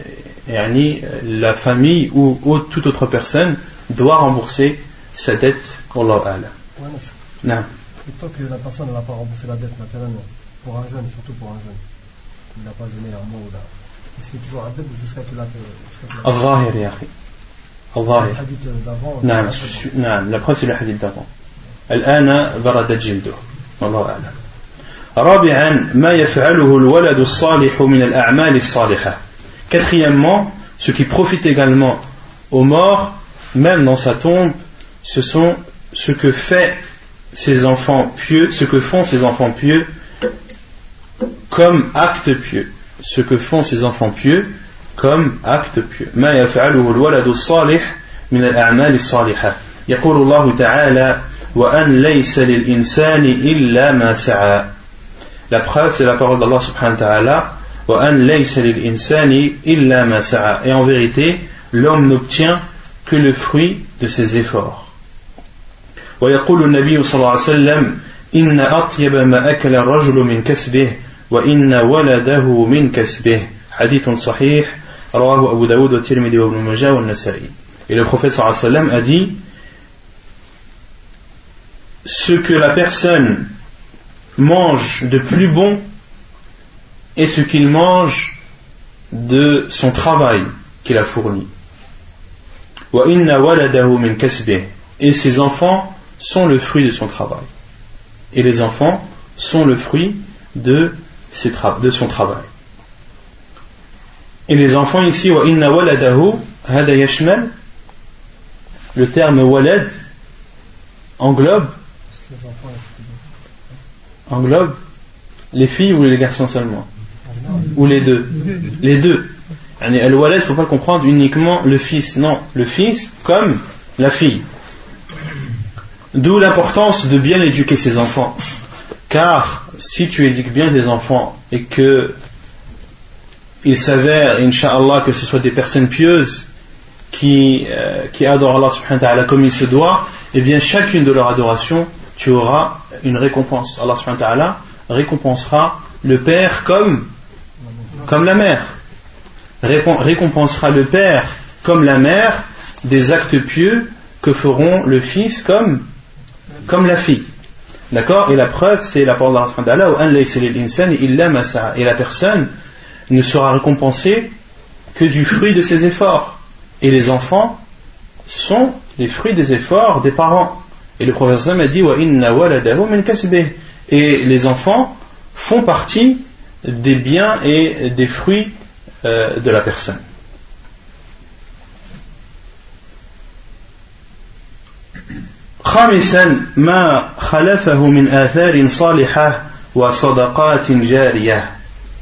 yani, la famille ou, ou toute autre personne doit rembourser sa dette. Wallahu a'lam. Non. Et tant que la personne n'a pas remboursé la dette, naturellement, pour un jeune, surtout pour un jeune, il n'a pas jeûné un mois ou là, est-ce qu'il y a toujours un dette jusqu'à que la Allah ya akhi. Allah. Le hadith d'avant. Non, non, la preuve c'est le hadith d'avant. الآن برد جلده والله أعلم. رابعا ما يفعله الولد الصالح من الأعمال الصالحة. Quatrièmement, ce qui profite également aux morts, même dans sa tombe, ce sont ce que fait ses enfants pieux, ce que font ses enfants pieux comme acte pieux. Ce que font ses enfants pieux comme acte pieux. ما يفعله الولد الصالح من الأعمال الصالحة. يقول الله تعالى وأن ليس للإنسان إلا ما سعى. La preuve c'est la parole d'Allah subhanahu wa ta'ala وأن ليس للإنسان إلا ما سعى. Et en vérité l'homme n'obtient que le fruit de ses efforts. ويقول النبي صلى الله عليه وسلم إن أطيب ما أكل الرجل من كسبه وإن ولده من كسبه. حديث صحيح رواه أبو داود والترمذي وابن ماجه والنسائي. Et le prophète صلى الله عليه وسلم a dit, ce que la personne mange de plus bon est ce qu'il mange de son travail qu'il a fourni. Et ses enfants sont le fruit de son travail. Et les enfants sont le fruit de, ses tra- de son travail. Et les enfants ici, le terme walad englobe englobe les filles ou les garçons seulement, ou les deux, les deux. Al-walad, il ne faut pas comprendre uniquement le fils, non, le fils comme la fille. D'où l'importance de bien éduquer ses enfants, car si tu éduques bien tes enfants et que il s'avère, Inch'Allah, que ce soit des personnes pieuses qui, euh, qui adorent Allah subhanahu wa ta'ala comme il se doit, et bien chacune de leurs adorations tu auras une récompense. Allah subhanahu wa ta'ala récompensera le père comme, comme la mère. Récompensera le père comme la mère des actes pieux que feront le fils comme, comme la fille. D'accord? Et la preuve, c'est la parole d'Allah subhanahu wa ta'ala, et la personne ne sera récompensée que du fruit de ses efforts. Et les enfants sont les fruits des efforts des parents. Et le prophète a dit et les enfants font partie des biens et des fruits euh, de la personne. خامسا ما خلفه من آثار صالحة وصدقات جارية.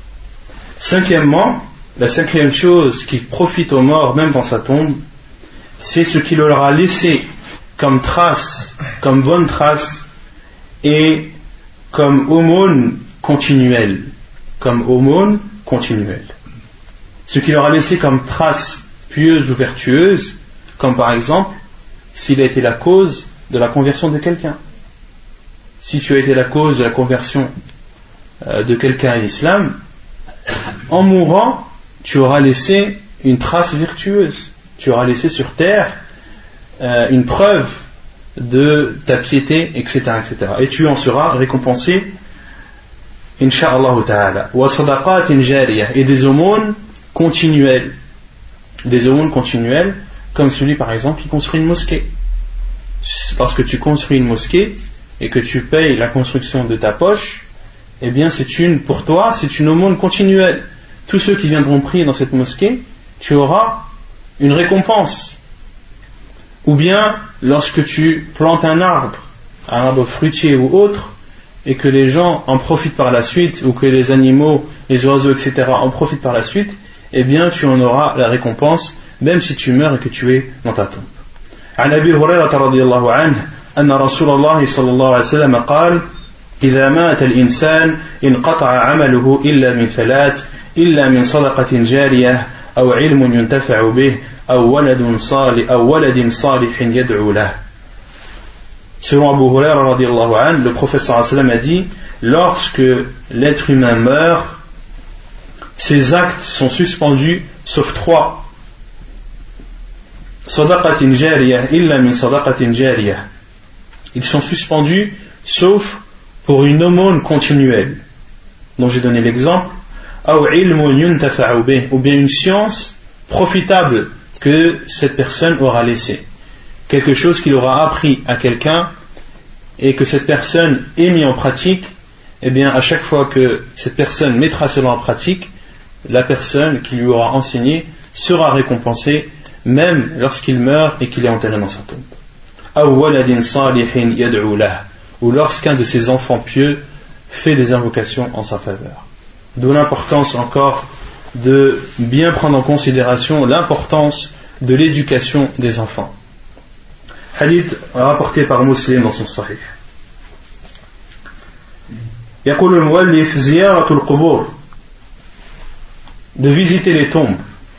Cinquièmement, la cinquième chose qui profite aux morts même dans sa tombe, c'est ce qu'il leur a laissé comme trace, comme bonne trace et comme aumône continuelle, comme aumône continuelle. Ce qu'il leur a laissé comme trace pieuse ou vertueuse, comme par exemple s'il a été la cause de la conversion de quelqu'un. Si tu as été la cause de la conversion euh, de quelqu'un à l'islam, en mourant, tu auras laissé une trace vertueuse. Tu auras laissé sur terre euh, une preuve de ta piété, et cetera, et cetera. Et tu en seras récompensé, insha'Allah ta'ala. Wa sadaqatin jariyah, et des aumônes continuelles. Des aumônes continuelles, comme celui par exemple qui construit une mosquée. Parce que tu construis une mosquée et que tu payes la construction de ta poche, eh bien c'est une, pour toi, c'est une aumône continuelle. Tous ceux qui viendront prier dans cette mosquée, tu auras une récompense. Ou bien, lorsque tu plantes un arbre, un arbre fruitier ou autre, et que les gens en profitent par la suite, ou que les animaux, les oiseaux, et cetera en profitent par la suite, eh bien tu en auras la récompense, même si tu meurs et que tu es dans ta tombe. عن أبي هريرة رضي الله عنه أن رسول الله صلى الله عليه وسلم قال إذا مات الإنسان انقطع عمله إلا من ثلاث إلا من صدقة جارية أو علم ينتفع به أو ولد صالح أو ولد صالح يدعو له. Selon Abu Huraira radiyallahu anhu, le prophète sallallahu alayhi wa sallam a dit, lorsque l'être humain meurt, ses actes sont suspendus sauf trois. Sadaqatin jariyah illa min sadaqatin jariyah. Ils sont suspendus sauf pour une aumône continuelle, dont j'ai donné l'exemple, ou bien une science profitable que cette personne aura laissée, quelque chose qu'il aura appris à quelqu'un et que cette personne ait mis en pratique. Et bien à chaque fois que cette personne mettra cela en pratique, la personne qui lui aura enseigné sera récompensée même lorsqu'il meurt et qu'il est enterré dans sa tombe. Ou lorsqu'un de ses enfants pieux fait des invocations en sa faveur. D'où l'importance encore de bien prendre en considération l'importance de l'éducation des enfants. Hadith rapporté par Muslim dans son Sahih. يقول المؤلف زيارة القبور, de visiter les tombes.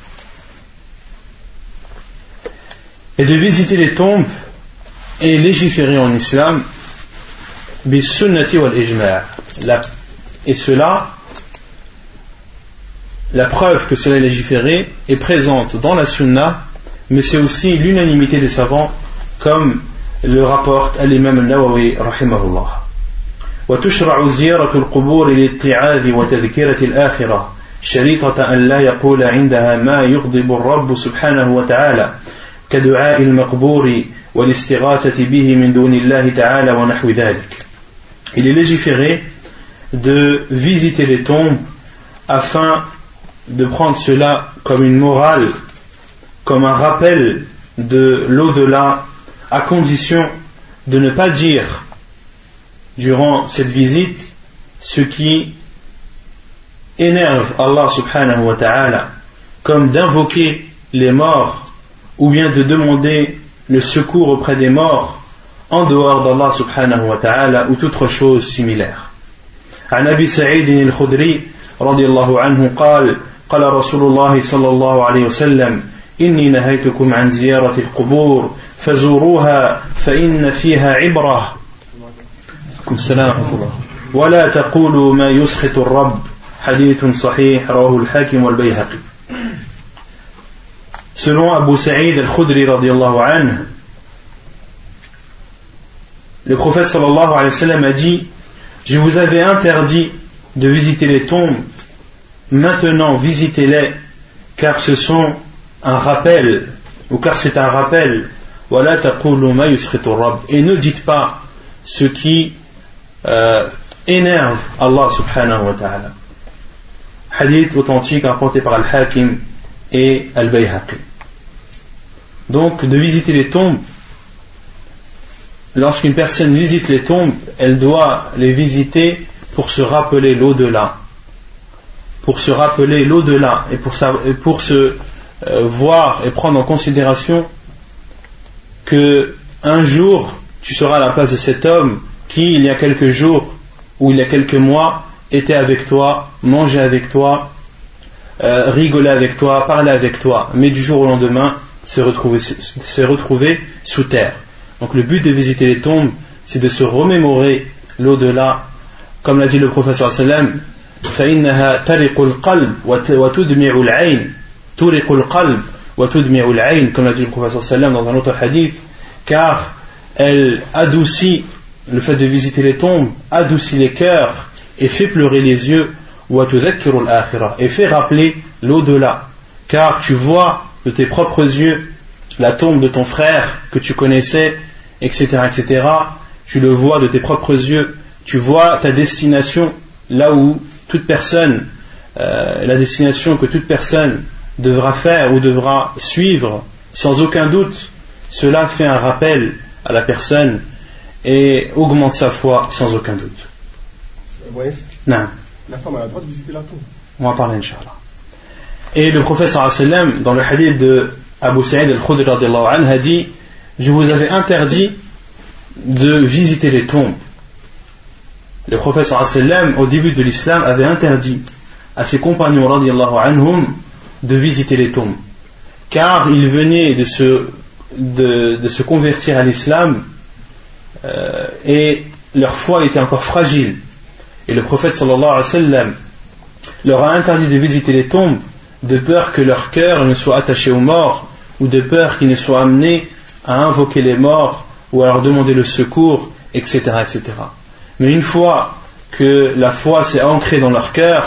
Et de visiter les tombes est légiféré en islam bis sunnati wal ijma'. Et cela, la preuve que cela est légiféré est présente dans la sunna, mais c'est aussi l'unanimité des savants, comme le rapporte l'imam al-Nawawi rahimahullah. وتشرع زيارة القبور للاتعاظ وتذكرة الآخرة شريطة أن لا يقول عندها ما يغضب الرب سبحانه وتعالى كدعاء المقبور والاستغاثة به من دون الله تعالى ونحو ذلك. Il est légiféré de visiter les tombes afin de prendre cela comme une morale, comme un rappel de l'au-delà, à condition de ne pas dire durant cette visite ce qui énerve Allah subhanahu wa ta'ala, comme d'invoquer les morts ou bien de demander le secours auprès des morts en dehors d'Allah subhanahu wa ta'ala ou toute autre chose similaire. عن أبي سعيد الخدري رضي الله عنه قال قال رسول الله صلى الله عليه وسلم إني نهيتكم عن زيارة القبور فزوروها فإن فيها عبرة ولا تقولوا ما يسخط الرب حديث صحيح رواه الحاكم والبيهقي. Selon Abu Sa'id al-Khudri radiyallahu anhu, le prophète sallallahu alayhi wa sallam a dit: je vous avais interdit de visiter les tombes, maintenant visitez-les, car ce sont un rappel, ou car c'est un rappel. ولا تقولوا ما يسخط الرب, et ne dites pas ce qui euh, énerve Allah subhanahu wa ta'ala. Hadith authentique rapporté par Al-Hakim et Al-Bayhaqi. Donc de visiter les tombes, lorsqu'une personne visite les tombes, elle doit les visiter pour se rappeler l'au-delà, pour se rappeler l'au-delà et pour, sa, et pour se euh, voir et prendre en considération que un jour tu seras à la place de cet homme qui, il y a quelques jours ou il y a quelques mois, était avec toi, mangeait avec toi, euh, rigolait avec toi, parlait avec toi, mais du jour au lendemain s'est retrouvé, s'est retrouvé sous terre. Donc le but de visiter les tombes, c'est de se remémorer l'au-delà, comme l'a dit le prophète sallallahu فإنها ترق القلب وتدمع العين ترق القلب وتدمع العين, comme l'a dit le prophète sallallahu dans un autre hadith, car elle adoucit, le fait de visiter les tombes adoucit les cœurs et fait pleurer les yeux, وتذكر الآخرة, et fait rappeler l'au-delà, car tu vois de tes propres yeux la tombe de ton frère que tu connaissais, etc., etc. Tu le vois de tes propres yeux, tu vois ta destination, là où toute personne, euh, la destination que toute personne devra faire ou devra suivre, sans aucun doute. Cela fait un rappel à la personne et augmente sa foi sans aucun doute. Ouais. Non. La femme a le droit de visiter la tombe. On va en parler, Inch'Allah. Et le prophète sallallahu alayhi wa sallam, dans le hadith de Abu Sa'id al-Khudri radiyallahu anhu, a dit: je vous avais interdit de visiter les tombes. Le prophète sallallahu alayhi wa sallam, au début de l'islam, avait interdit à ses compagnons radiyallahu anhum de visiter les tombes, car ils venaient de se, de, de se convertir à l'islam euh, et leur foi était encore fragile. Et le prophète sallallahu alayhi wa sallam leur a interdit de visiter les tombes de peur que leur cœur ne soit attaché aux morts, ou de peur qu'ils ne soient amenés à invoquer les morts ou à leur demander le secours, et cetera, et cetera. Mais une fois que la foi s'est ancrée dans leur cœur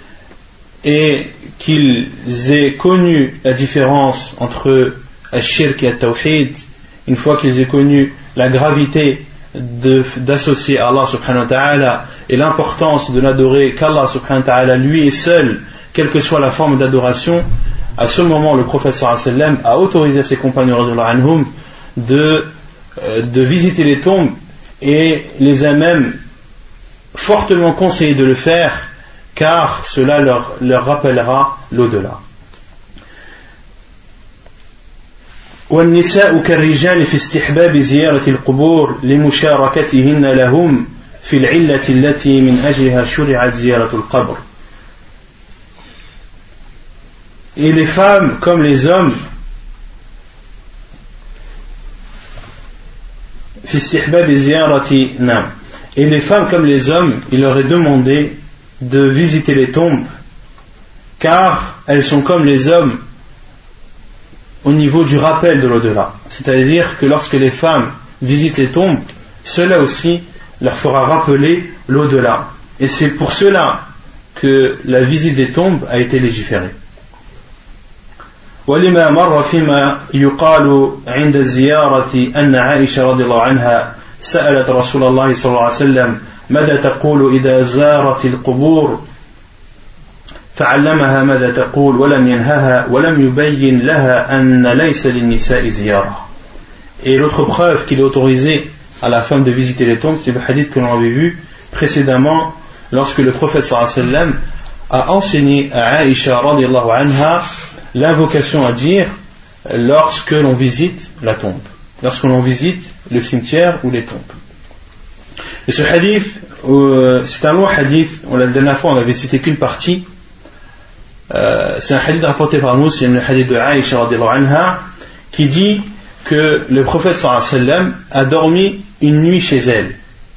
et qu'ils aient connu la différence entre al-shirk et al-tawhid, une fois qu'ils aient connu la gravité de, d'associer Allah subhanahu wa ta'ala et l'importance de n'adorer qu'Allah subhanahu wa ta'ala lui et seul, quelle que soit la forme d'adoration, à ce moment le prophète sallallahu alayhi wa sallam a autorisé à ses compagnons radhiyallahu anhum de, euh, de visiter les tombes et les a même fortement conseillé de le faire, car cela leur, leur rappellera l'au-delà. والنساء كالرجال في استحباب زيارة القبور لمشاركتهن لهم في العلة التي من أجلها شرعت زيارة القبر. Et les femmes comme les hommes في استحباب زيارة نعم. Et les femmes comme les hommes, il leur est demandé de visiter les tombes, car elles sont comme les hommes au niveau du rappel de l'au-delà. C'est-à-dire que lorsque les femmes visitent les tombes, cela aussi leur fera rappeler l'au-delà. Et c'est pour cela que la visite des tombes a été légiférée. ولما مر فيما يقال عند الزيارة أن عائشة رضي الله عنها سألت رسول الله صلى الله عليه وسلم ماذا تقول إذا زارت القبور فعلمها ماذا تقول ولم ينهها ولم يبين لها أن ليس للنساء زيارة. Et l'autre preuve qu'il est autorisé à la femme de visiter les tombes, c'est le hadith que l'on avait vu précédemment, lorsque le prophète sallallahu alayhi wa sallam a enseigné à Aïcha radiyallahu anha l'invocation à dire lorsque l'on visite la tombe, lorsque l'on visite le cimetière ou les tombes. Et ce hadith, euh, c'est un long hadith. La dernière fois on avait cité qu'une partie. Euh, c'est un hadith rapporté par nous, c'est le hadith de Aïcha radiyallahu anha, qui dit que le prophète sallallahu alayhi wa sallam a dormi une nuit chez elle.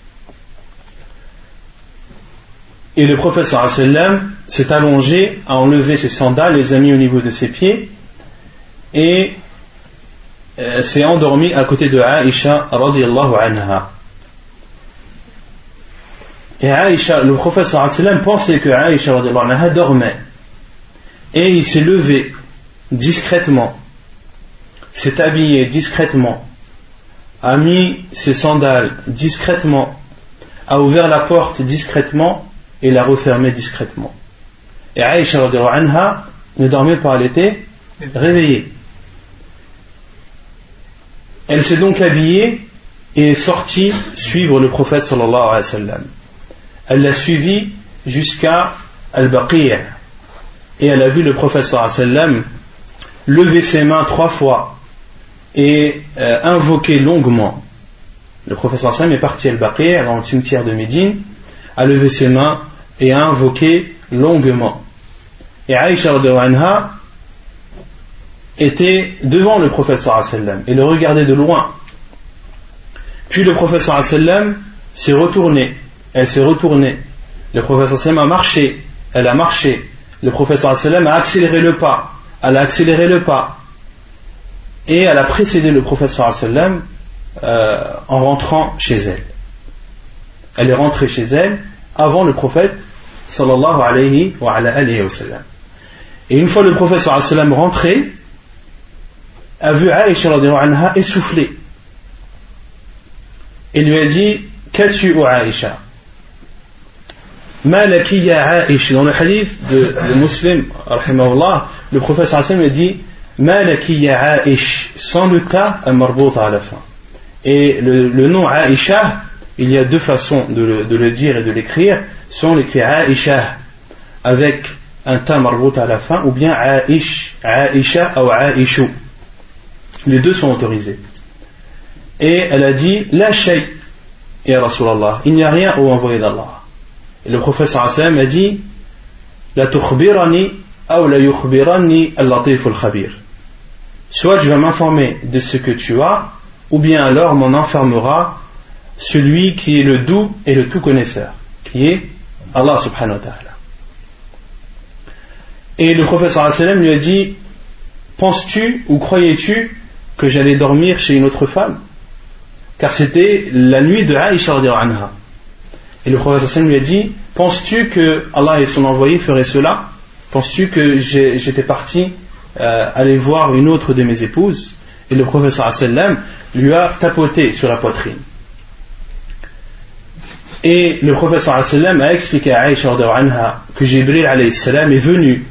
Et le prophète sallallahu alayhi wa sallam s'est allongé, a enlevé ses sandales, les a mis au niveau de ses pieds et euh, s'est endormi à côté de Aïcha radiyallahu anha. Et Aïcha, le prophète sallallahu alayhi wa sallam pensait que Aïcha radiyallahu anha dormait. Et il s'est levé discrètement, s'est habillé discrètement, a mis ses sandales discrètement, a ouvert la porte discrètement et l'a refermée discrètement. Et Aïcha radhiyallahu anha ne dormait pas, elle était réveillée. Elle s'est donc habillée et est sortie suivre le prophète sallallahu alayhi wa sallam. Elle l'a suivi jusqu'à Al-Baqi'. Et elle a vu le prophète sallallahu alayhi wa sallam lever ses mains trois fois et euh, invoqué longuement. Le prophète sallallahu alayhi wa sallam est parti à Al-Baqi', dans le cimetière de Médine, a levé ses mains et a invoqué longuement. Et Aïcha radhiyallahu anha était devant le prophète sallallahu alayhi wa sallam et le regardait de loin. Puis le prophète sallallahu alayhi wa sallam s'est retourné, elle s'est retournée. Le prophète sallallahu alayhi wa sallam a marché, elle a marché. Le prophète sallallahu alayhi wa sallam a accéléré le pas, elle a accéléré le pas. Et elle a précédé le prophète sallallahu alayhi wa sallam euh, en rentrant chez elle. Elle est rentrée chez elle avant le prophète sallallahu alayhi wa alayhi wa sallam. Et une fois le prophète sallallahu alayhi wa sallam rentré, a vu Aïcha radhiyallahu anha essoufflée. Et lui a dit: qu'as-tu, ô Aïcha? Ma laki ya Aïcha. Dans le hadith de, de Muslim, rahimahullah, le prophète sallallahu alayhi wa sallam a dit: Ma laki ya Aïcha, sans le ta al-marbouta à la fin. Et le, le nom Aïcha, il y a deux façons de le, de le dire et de l'écrire. Soit on l'écrit Aïcha avec un ta marbouta à la fin, ou bien Aïch, Aïcha ou Aïchou. Les deux sont autorisés. Et elle a dit: La shay, ya Rasulallah, il n'y a rien au envoyé d'Allah. Et le prophète sallallahu alayhi wa sallam a dit: La tukhbirani ou la yukhbirani al-latif al-khabir. Soit je vais m'informer de ce que tu as, ou bien alors m'en informera celui qui est le doux et le tout connaisseur, qui est Allah subhanahu wa ta'ala. Et le prophète sallallahu alayhi wa sallam lui a dit: penses-tu ou croyais-tu que j'allais dormir chez une autre femme? Car c'était la nuit de Aïcha radhiyallahu anha. Et le prophète sallallahu alayhi wa sallam lui a dit: penses-tu que Allah et son envoyé feraient cela? Penses-tu que j'ai, j'étais parti euh, aller voir une autre de mes épouses? Et le prophète sallallahu alayhi wa sallam lui a tapoté sur la poitrine. Et le prophète sallallahu alayhi wa sallam a expliqué à Aïcha radhiyallahu anha que Jibril alayhi salam est venu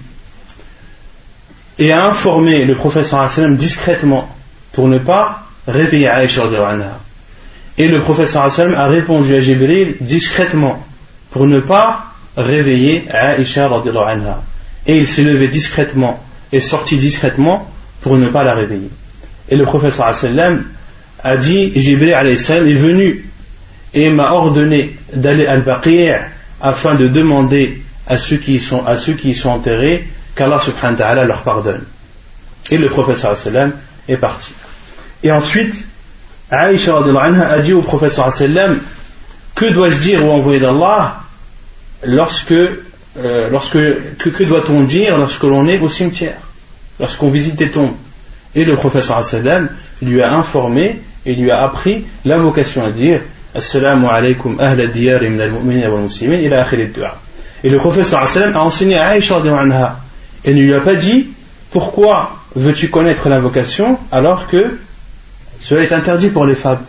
et a informé le prophète sallallahu alayhi wa sallam discrètement pour ne pas réveiller Aïcha radhiyallahu anha. Et le prophète sallallahu alayhi wa sallam a répondu à Jibril discrètement pour ne pas réveiller Aïcha radhiyallahu anha. Et il s'est levé discrètement et sorti discrètement pour ne pas la réveiller. Et le prophète sallallahu alayhi wa sallam a dit: Jibril alayhi salam est venu et m'a ordonné d'aller à Al-Baqi' afin de demander à ceux qui y sont, à ceux qui y sont enterrés qu'Allah subhanahu wa ta'ala leur pardonne. Et le prophète sallallahu alayhi wa sallam est parti. Et ensuite, Aïcha radhiyallahu anha a dit au prophète sallallahu alayhi wa sallam: que dois-je dire au envoyé d'Allah lorsque, euh, lorsque que, que doit-on dire lorsque l'on est au cimetière, lorsqu'on visite des tombes? Et le prophète sallallahu alayhi wa sallam lui a informé et lui a appris l'invocation à dire: Assalamu alaykum ahla diyari min al-mu'minin wal muslimin ila akhir ad-du'a. Et le prophète sallallahu alayhi wa sallam a enseigné à Aïcha radhiyallahu anha et ne lui a pas dit: pourquoi veux-tu connaître l'invocation alors que cela est interdit pour les femmes?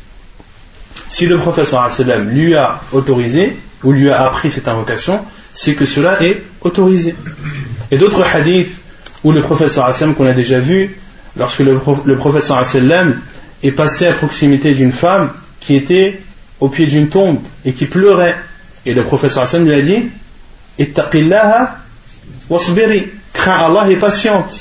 Si le prophète sallallahu alayhi wa sallam lui a autorisé ou lui a appris cette invocation, c'est que cela est autorisé. Et d'autres hadiths où le prophète sallallahu alayhi wa sallam qu'on a déjà vu, lorsque le, le prophète sallallahu alayhi wa sallam est passé à proximité d'une femme qui était au pied d'une tombe et qui pleurait, et le prophète sallallahu alayhi wa sallam lui a dit: ittaqillaha wasbiri, crains Allah et patiente.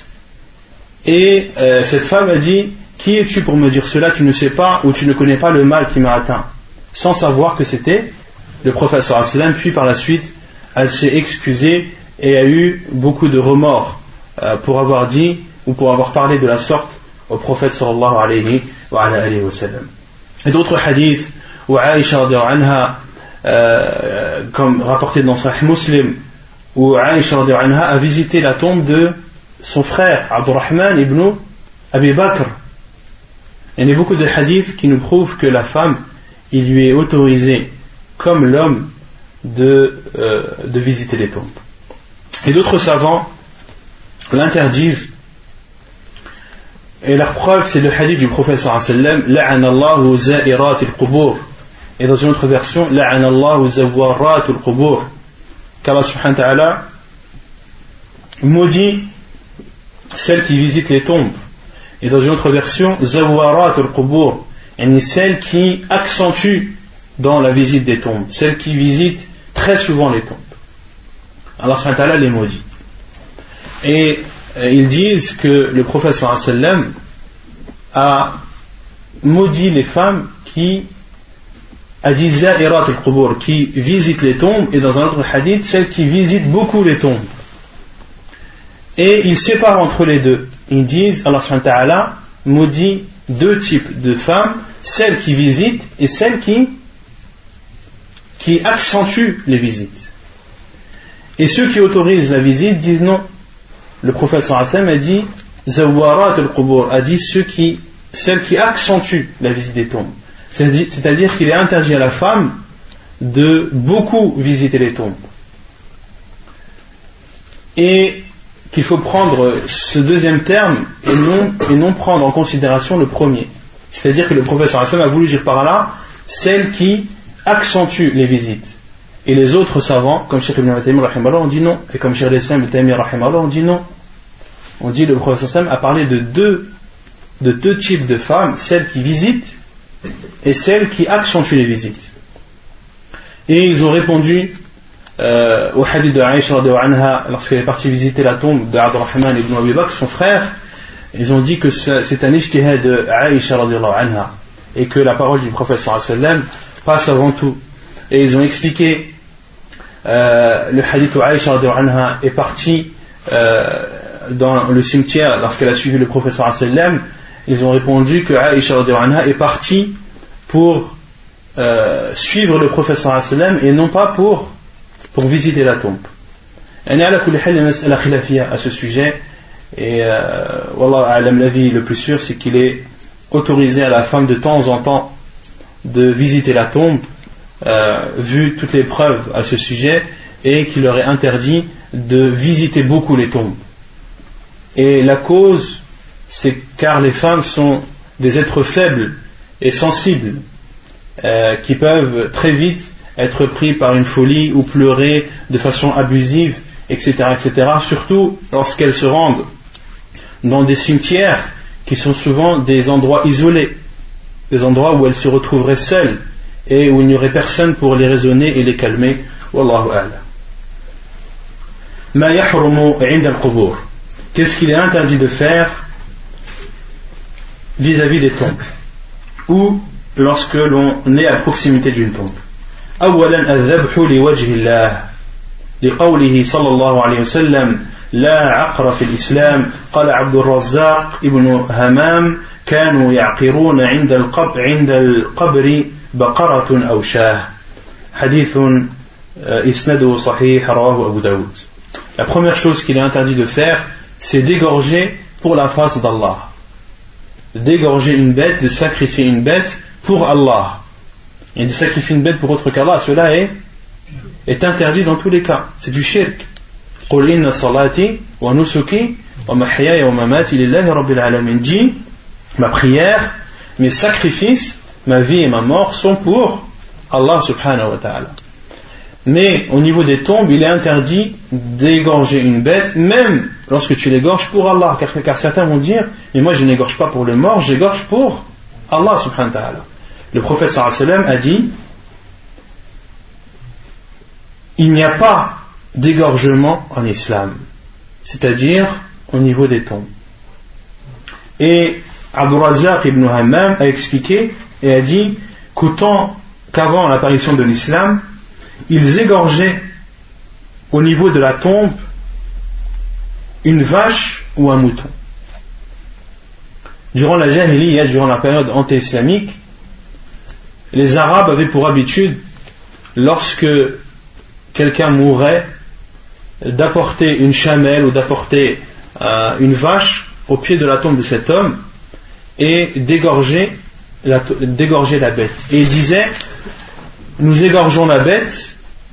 Et euh, cette femme a dit: qui es-tu pour me dire cela? Tu ne sais pas ou tu ne connais pas le mal qui m'a atteint, sans savoir que c'était le prophète sallallahu alayhi wa sallam. Puis par la suite elle s'est excusée et a eu beaucoup de remords euh, pour avoir dit ou pour avoir parlé de la sorte au prophète sallallahu alayhi wa alayhi wa sallam. Et d'autres hadiths où Aïcha radhiyallahu anha, euh, comme rapporté dans Sahih Muslim, où Aïcha radhiyallahu anha a visité la tombe de son frère Abdurrahman ibn Abi Bakr. Il y a beaucoup de hadiths qui nous prouvent que la femme, il lui est autorisé comme l'homme de, euh, de visiter les tombes. Et d'autres savants l'interdisent. Et la preuve, c'est le hadith du prophète sallallahu alayhi wa sallam: La'anallahu za'irat al-qubur. Et dans une autre version: La'anallahu zawarat al-qubur. Qu'Allah subhanahu wa ta'ala maudit celle qui visite les tombes. Et dans une autre version: Zawarat al-qubur. Et celle qui accentue dans la visite des tombes, celle qui visite très souvent les tombes. Allah subhanahu wa ta'ala les maudit. Et ils disent que le prophète sallallahu alayhi wa sallam a maudit les femmes qui a dit za'irat al-qubur, qui visitent les tombes, et dans un autre hadith, celles qui visitent beaucoup les tombes. Et ils séparent entre les deux. Ils disent, Allah subhanahu wa ta'ala maudit deux types de femmes, celles qui visitent et celles qui, qui accentuent les visites. Et ceux qui autorisent la visite disent non. Le prophète sallallahu alayhi wa sallam a dit zawarat al-qubur, a dit ceux qui, celles qui accentuent la visite des tombes. C'est-à-dire qu'il est interdit à la femme de beaucoup visiter les tombes. Et qu'il faut prendre ce deuxième terme et non, et non prendre en considération le premier. C'est-à-dire que le prophète sallallahu alayhi wa sallam a voulu dire par là celles qui accentuent les visites. Et les autres savants, comme Cheikh Ibn Taymiyyah rahimahullah, ont dit non. Et comme Cheikh Ibn Taymiyyah rahimahullah, on dit non. On dit le prophète sallallahu alayhi wa sallam a parlé de deux, de deux types de femmes, celles qui visitent et celles qui accentuent les visites. Et ils ont répondu euh, au hadith de Aïcha radhiyallahu anha lorsqu'elle est partie visiter la tombe d'Abdurrahman ibn Abi Bakr, son frère. Ils ont dit que c'est un ijtihad de Aïcha radhiyallahu anha et que la parole du prophète sallallahu alayhi wa sallam passe avant tout. Et ils ont expliqué euh, le hadith où Aïcha radhiyallahu anha est partie euh, dans le cimetière lorsqu'elle a suivi le prophète sallallahu alayhi wa sallam. Ils ont répondu que Aïcha radhiyallahu anha est partie pour euh, suivre le prophète sallallahu alayhi wa sallam et non pas pour, pour visiter la tombe. Il y a la khilafiyya à ce sujet, et euh, wallah a'lam, l'avis le plus sûr c'est qu'il est autorisé à la femme de temps en temps de visiter la tombe, euh, vu toutes les preuves à ce sujet, et qu'il leur est interdit de visiter beaucoup les tombes. Et la cause, c'est car les femmes sont des êtres faibles et sensibles, euh, qui peuvent très vite être pris par une folie ou pleurer de façon abusive, et cetera, et cetera. Surtout lorsqu'elles se rendent dans des cimetières qui sont souvent des endroits isolés, des endroits où elles se retrouveraient seules et où il n'y aurait personne pour les raisonner et les calmer. Wallahu a'lam. Ma yahrumu 'inda al-qubur. Qu'est-ce qu'il est interdit de faire vis-à-vis des tombes ou lorsque l'on est à proximité d'une tombe? أولا الذبح لوجه الله لقوله صلى الله عليه وسلم لا عقر في الإسلام. قال عبد الرزاق ابن همام كانوا يعقرون عند القبر عند القبر بقرة أو شاة. حديث إسناده صحيح رواه أبو داود. La première chose qu'il est interdit de faire, c'est d'égorger pour la face d'Allah, d'égorger une bête, de sacrifier une bête pour Allah, et de sacrifier une bête pour autre qu'Allah. Cela est, est interdit dans tous les cas, c'est du shirk. قل إن صلاتي ونسكي ومحياي ومماتي لله رب العالمين. Dis, ma prière, mes sacrifices, ma vie et ma mort sont pour Allah subhanahu wa ta'ala. Mais au niveau des tombes, il est interdit d'égorger une bête, même lorsque tu l'égorges pour Allah, car, car certains vont dire, mais moi je n'égorge pas pour le mort, j'égorge pour Allah subhanahu wa ta'ala. Le prophète sallallahu alayhi wa sallam a dit, il n'y a pas d'égorgement en islam, c'est-à-dire au niveau des tombes. Et Abdul Razzaq ibn Hammam a expliqué et a dit qu'autant qu'avant l'apparition de l'islam, ils égorgeaient au niveau de la tombe une vache ou un mouton. Durant la Jahiliya, durant la période anté-islamique, les Arabes avaient pour habitude, lorsque quelqu'un mourait, d'apporter une chamelle ou d'apporter euh, une vache au pied de la tombe de cet homme et d'égorger la, d'égorger la bête. Et ils disaient, nous égorgeons la bête,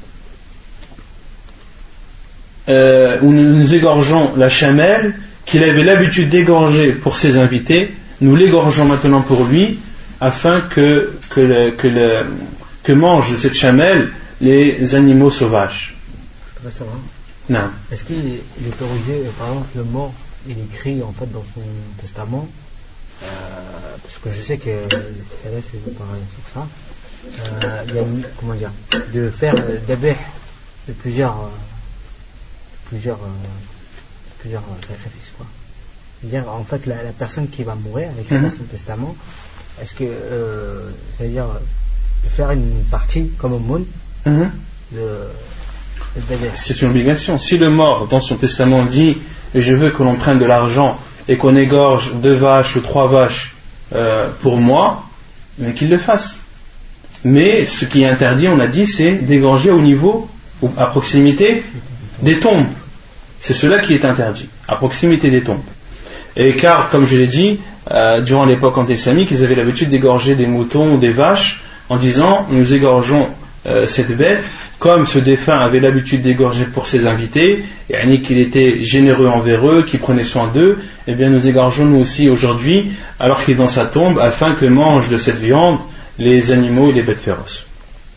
euh, ou nous égorgeons la chamelle qu'il avait l'habitude d'égorger pour ses invités, nous l'égorgeons maintenant pour lui, afin que, que, le, que, le, que mangent cette chamelle les animaux sauvages. Je peux savoir. Non. Est-ce qu'il est autorisé, par exemple, le mort, il écrit en fait dans son testament, euh, parce que je sais que Khaled fait pareil sur ça, euh, il y a une, comment dire, de faire euh, d'abeh de plusieurs, euh, plusieurs, euh, plusieurs euh, sacrifices, quoi. C'est-à-dire, en fait, la, la personne qui va mourir, avec mm-hmm. son testament, est-ce que, euh, c'est-à-dire, de faire une partie comme au monde, mm-hmm. de, de c'est une obligation. Si le mort, dans son testament, dit je veux que l'on prenne de l'argent et qu'on égorge deux vaches ou trois vaches euh, pour moi, mais qu'il le fasse. Mais ce qui est interdit, on a dit, c'est d'égorger au niveau ou à proximité des tombes. C'est cela qui est interdit, à proximité des tombes. Et car, comme je l'ai dit, euh, durant l'époque anti-islamique, ils avaient l'habitude d'égorger des moutons ou des vaches en disant nous égorgeons euh, cette bête comme ce défunt avait l'habitude d'égorger pour ses invités, et qu'il était généreux envers eux, qu'il prenait soin d'eux, et bien nous égorgeons nous aussi aujourd'hui alors qu'il est dans sa tombe afin que mangent de cette viande les animaux et les bêtes féroces.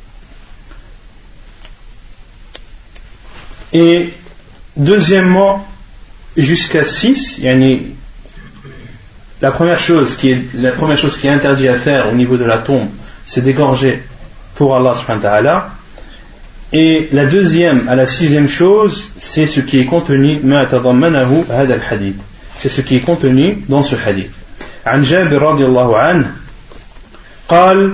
Et deuxièmement, jusqu'à six, yani, la première chose qui est la première chose qui est interdite à faire au niveau de la tombe, c'est d'égorger pour Allah subhanahu wa ta'ala. Et la deuxième à la sixième chose, c'est ce qui est contenu ma tadammanahu hada al-hadith. C'est ce qui est contenu dans ce hadith. عن جابر رضي الله عنه قال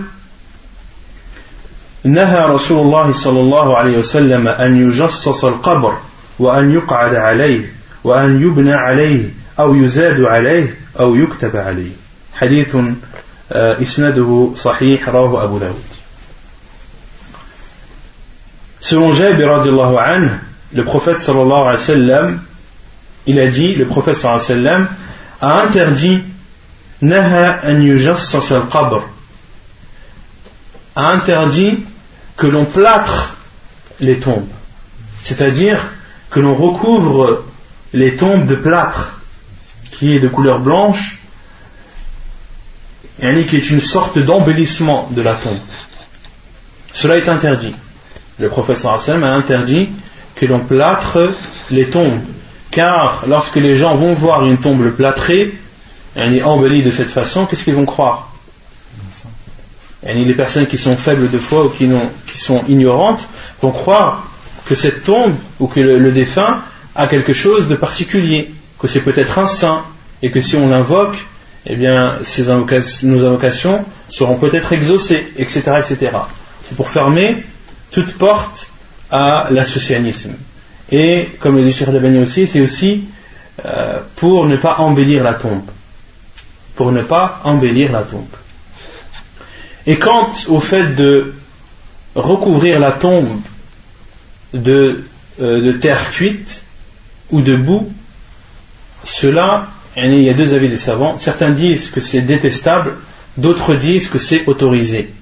نهى رسول الله صلى الله عليه وسلم أن يجصص القبر وأن يقعد عليه وأن يبنى عليه أو يزاد عليه أو يكتب عليه. حديث إسناده صحيح رواه أبو داود. Selon Jabir radiallahu anhu, le prophète sallallahu alayhi wa sallam, il a dit, le prophète sallallahu alayhi wa sallam a interdit naha an yujassas al-qabr, a interdit que l'on plâtre les tombes, c'est-à-dire que l'on recouvre les tombes de plâtre qui est de couleur blanche, qui est une sorte d'embellissement de la tombe. Cela est interdit. Le prophète sallallahu alayhi wa sallam a interdit que l'on plâtre les tombes, car lorsque les gens vont voir une tombe plâtrée, elle est embellie de cette façon, qu'est-ce qu'ils vont croire? Les personnes qui sont faibles de foi ou qui, qui sont ignorantes vont croire que cette tombe ou que le, le défunt a quelque chose de particulier, que c'est peut-être un saint, et que si on l'invoque, eh bien, ces invocations, nos invocations seront peut-être exaucées, et cetera, et cetera. C'est pour fermer toute porte à l'associanisme. Et comme le dit Cheikh Dabani aussi, c'est aussi euh, pour ne pas embellir la tombe. Pour ne pas embellir la tombe. Et quant au fait de recouvrir la tombe de, euh, de terre cuite ou de boue, cela, il y a deux avis des savants. Certains disent que c'est détestable, d'autres disent que c'est autorisé.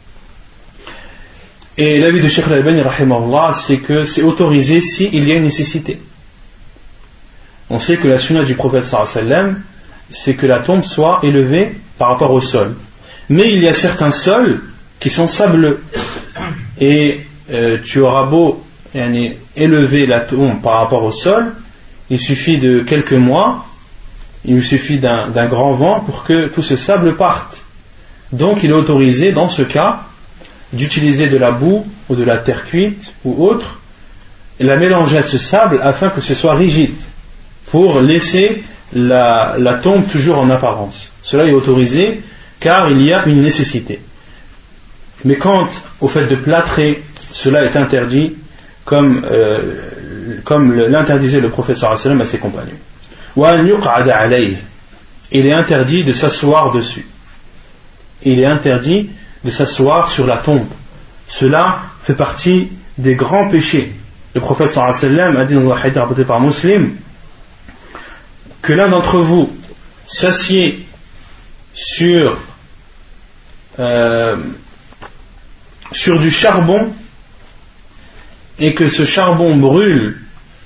Et l'avis de Cheikh Al-Albani rahimahullah, c'est que c'est autorisé s'il y a une nécessité. On sait que la sunna du prophète sallallahu alayhi wa sallam, c'est que la tombe soit élevée par rapport au sol. Mais il y a certains sols qui sont sableux. Et euh, tu auras beau yani, élever la tombe par rapport au sol, il suffit de quelques mois, il suffit d'un, d'un grand vent pour que tout ce sable parte. Donc il est autorisé dans ce cas d'utiliser de la boue ou de la terre cuite ou autre et la mélanger à ce sable afin que ce soit rigide pour laisser la, la tombe toujours en apparence. Cela est autorisé car il y a une nécessité. Mais quant au fait de plâtrer, cela est interdit comme, euh, comme l'interdisait le prophète sallallahu alayhi wa sallam à ses compagnons. Wa an yuq'ada alayhi. Il est interdit de s'asseoir dessus. Il est interdit de s'asseoir sur la tombe. Cela fait partie des grands péchés. Le prophète sallallahu alayhi wa sallam a dit dans un hadith rapporté par Muslim que l'un d'entre vous s'assied sur euh, sur du charbon et que ce charbon brûle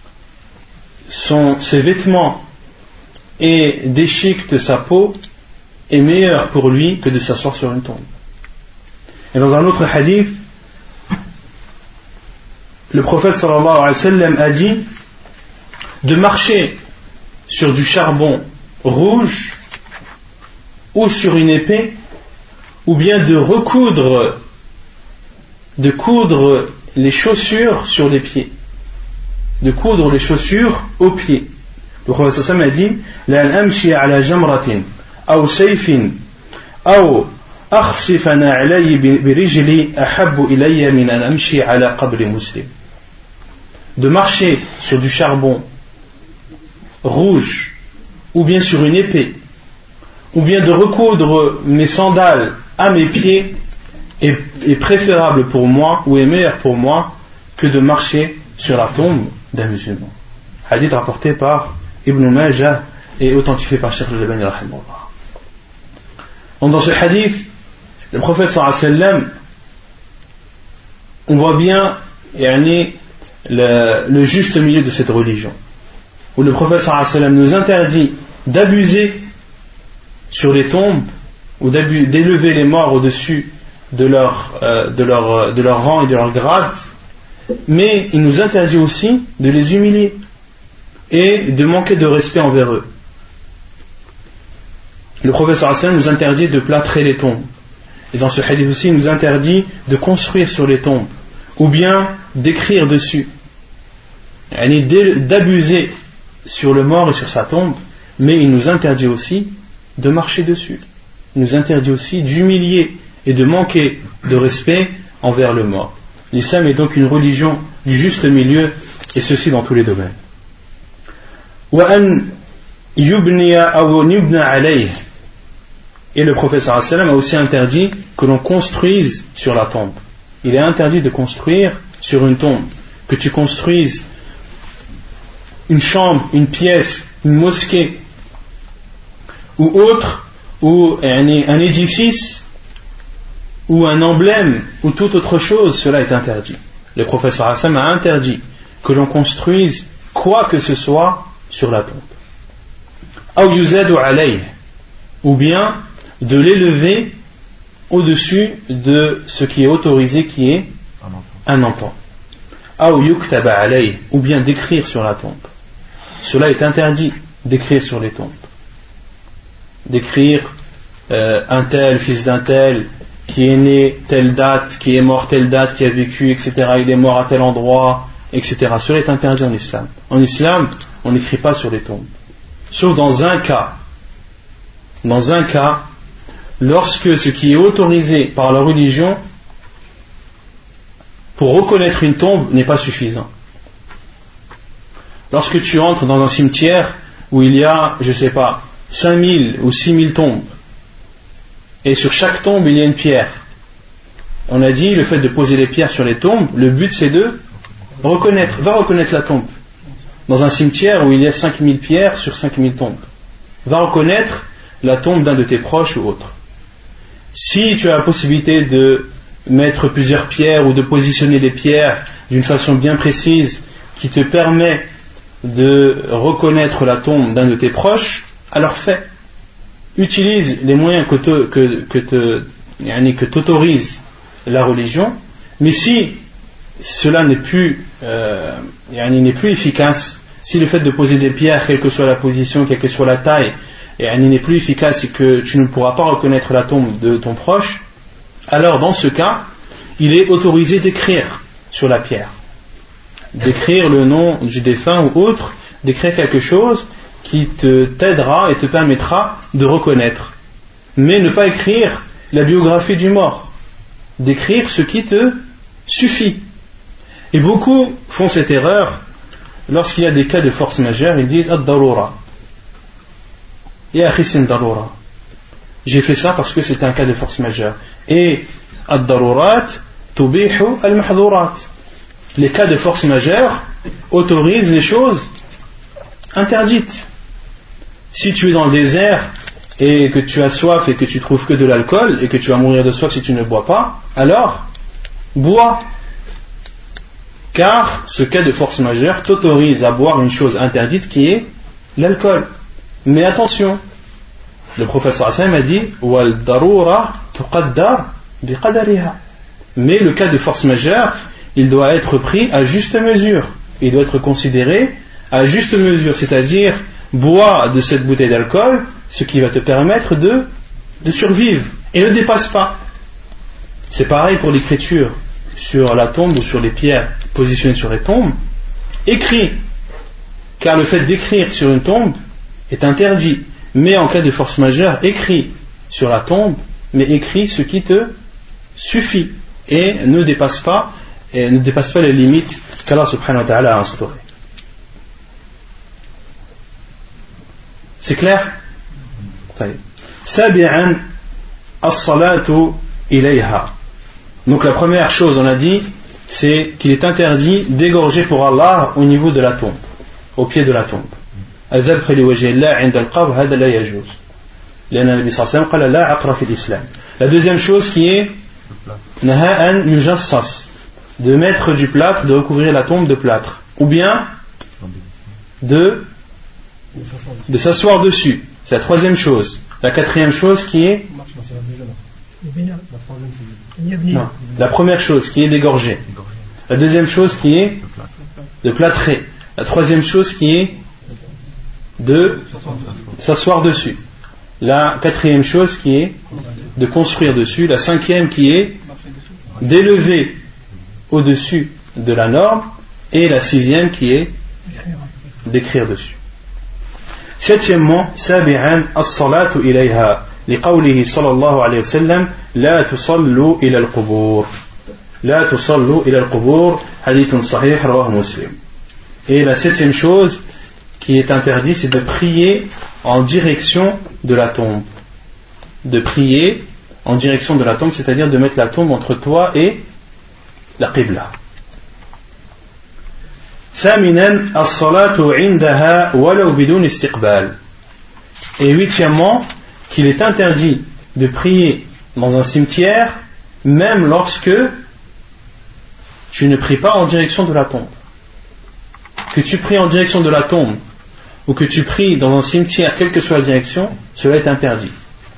son, ses vêtements et déchiquette sa peau est meilleur pour lui que de s'asseoir sur une tombe. Et dans un autre hadith, le prophète sallallahu alayhi wa sallam a dit de marcher sur du charbon rouge ou sur une épée, ou bien de recoudre de coudre les chaussures sur les pieds, de coudre les chaussures aux pieds. Le prophète sallallahu alayhi wa sallam a dit لأن أمشي على جمرة أو سيف أو أخسف نعلي برجلي أحب إلي من أن أمشي على قبر مسلم. De marcher sur du charbon rouge, ou bien sur une épée, ou bien de recoudre mes sandales à mes pieds est, est préférable pour moi, ou est meilleur pour moi, que de marcher sur la tombe d'un musulman. Hadith rapporté par Ibn Majah et authentifié par Cheikh Al-Albani rahimahullah. Donc dans ce hadith, le prophète sallallahu alayhi wa sallam, on voit bien yani, le, le juste milieu de cette religion, où le prophète sallallahu alayhi wa sallam nous interdit d'abuser sur les tombes ou d'élever les morts au-dessus de leur, euh, de, leur, de leur rang et de leur grade, mais il nous interdit aussi de les humilier et de manquer de respect envers eux. Le prophète sallallahu alayhi wa sallam nous interdit de plâtrer les tombes, et dans ce hadith aussi il nous interdit de construire sur les tombes ou bien d'écrire dessus, d'abuser sur le mort et sur sa tombe, mais il nous interdit aussi de marcher dessus. Il nous interdit aussi d'humilier et de manquer de respect envers le mort. L'islam est donc une religion du juste milieu, et ceci dans tous les domaines. وأن يبني أو يبنى عليه. Et le prophète sallallahu alayhi wa sallam a aussi interdit que l'on construise sur la tombe. Il est interdit de construire sur une tombe, que tu construises une chambre, une pièce, une mosquée ou autre, ou un, un édifice ou un emblème ou toute autre chose, cela est interdit. Le prophète sallallahu alayhi wa sallam a interdit que l'on construise quoi que ce soit sur la tombe. Aw yuzadu alayh, ou bien de l'élever au-dessus de ce qui est autorisé, qui est un enfant. Aw yuktaba alayh, ou bien d'écrire sur la tombe. Cela est interdit, d'écrire sur les tombes. D'écrire euh, un tel, fils d'un tel, qui est né telle date, qui est mort telle date, qui a vécu, et cetera. Il est mort à tel endroit, et cetera. Cela est interdit en islam. En islam, on n'écrit pas sur les tombes. Sauf dans un cas. Dans un cas, lorsque ce qui est autorisé par la religion pour reconnaître une tombe n'est pas suffisant. Lorsque tu entres dans un cimetière où il y a, je ne sais pas, cinq mille ou six mille tombes, et sur chaque tombe il y a une pierre, on a dit le fait de poser les pierres sur les tombes, le but c'est de reconnaître, va reconnaître la tombe. Dans un cimetière où il y a cinq mille pierres sur cinq mille tombes, va reconnaître la tombe d'un de tes proches ou autre. Si tu as la possibilité de mettre plusieurs pierres ou de positionner les pierres d'une façon bien précise qui te permet de reconnaître la tombe d'un de tes proches, alors fais. Utilise les moyens que, te, que, que, te, que t'autorise la religion, mais si cela n'est plus, euh, n'est plus efficace, si le fait de poser des pierres, quelle que soit la position, quelle que soit la taille, n'est plus efficace et que tu ne pourras pas reconnaître la tombe de ton proche, alors dans ce cas, il est autorisé d'écrire sur la pierre, d'écrire le nom du défunt ou autre, d'écrire quelque chose qui te t'aidera et te permettra de reconnaître, mais ne pas écrire la biographie du mort, d'écrire ce qui te suffit. Et beaucoup font cette erreur lorsqu'il y a des cas de force majeure, ils disent ad-darura. Ya akhi, c'est une darura. J'ai fait ça parce que c'est un cas de force majeure. Et ad-darurat tubihu al-mahdhurat. Les cas de force majeure autorisent les choses interdites. Si tu es dans le désert et que tu as soif et que tu trouves que de l'alcool et que tu vas mourir de soif si tu ne bois pas, alors bois. Car ce cas de force majeure t'autorise à boire une chose interdite qui est l'alcool. Mais attention, le prophète sallallahu alayhi wa sallam a dit wal darura tuqaddar biqadariha. Mais le cas de force majeure, il doit être pris à juste mesure. Il doit être considéré à juste mesure, c'est-à-dire bois de cette bouteille d'alcool ce qui va te permettre de, de survivre et ne dépasse pas. C'est pareil pour l'écriture sur la tombe ou sur les pierres positionnées sur les tombes. Écris car le fait d'écrire sur une tombe est interdit. Mais en cas de force majeure, écris sur la tombe, mais écris ce qui te suffit et ne dépasse pas, et ne dépasse pas les limites qu'Allah subhanahu wa ta'ala a instaurées. C'est clair? Sabi'an as-salatu ilayha. Donc la première chose, on a dit, c'est qu'il est interdit d'égorger pour Allah au niveau de la tombe, au pied de la tombe. الذبح لوجه الله عند القبر هذا لا يجوز لأن النبي صلى الله عليه وسلم قال لا عقر في الإسلام. La deuxième chose qui est نهاء يجصص, de mettre du plâtre, de recouvrir la tombe de plâtre, ou bien de de s'asseoir dessus. C'est la troisième chose. La quatrième chose qui est non. La première chose qui est d'égorger. La deuxième chose qui est de plâtrer. La troisième chose qui est de s'asseoir dessus. La quatrième chose qui est de construire dessus. La cinquième qui est d'élever au-dessus de la norme. Et la sixième qui est d'écrire dessus. Septièmement, sabi'an as-salatu ilayha liqawlihi sallallahu alayhi wa sallam la tusallu ila al-qubur la tusallu ila al-qubur hadithun sahih rawahu Muslim. Et la septième chose qui est interdite, c'est de prier en direction de la tombe. De prier en direction de la tombe, c'est-à-dire de mettre la tombe entre toi et la qibla. ثامنا الصلاة عندها ولو بدون استقبال. Et huitièmement, qu'il est interdit de prier dans un cimetière même lorsque tu ne pries pas en direction de la tombe. Que tu pries en direction de la tombe ou que tu pries dans un cimetière, quelle que soit la direction, cela est interdit.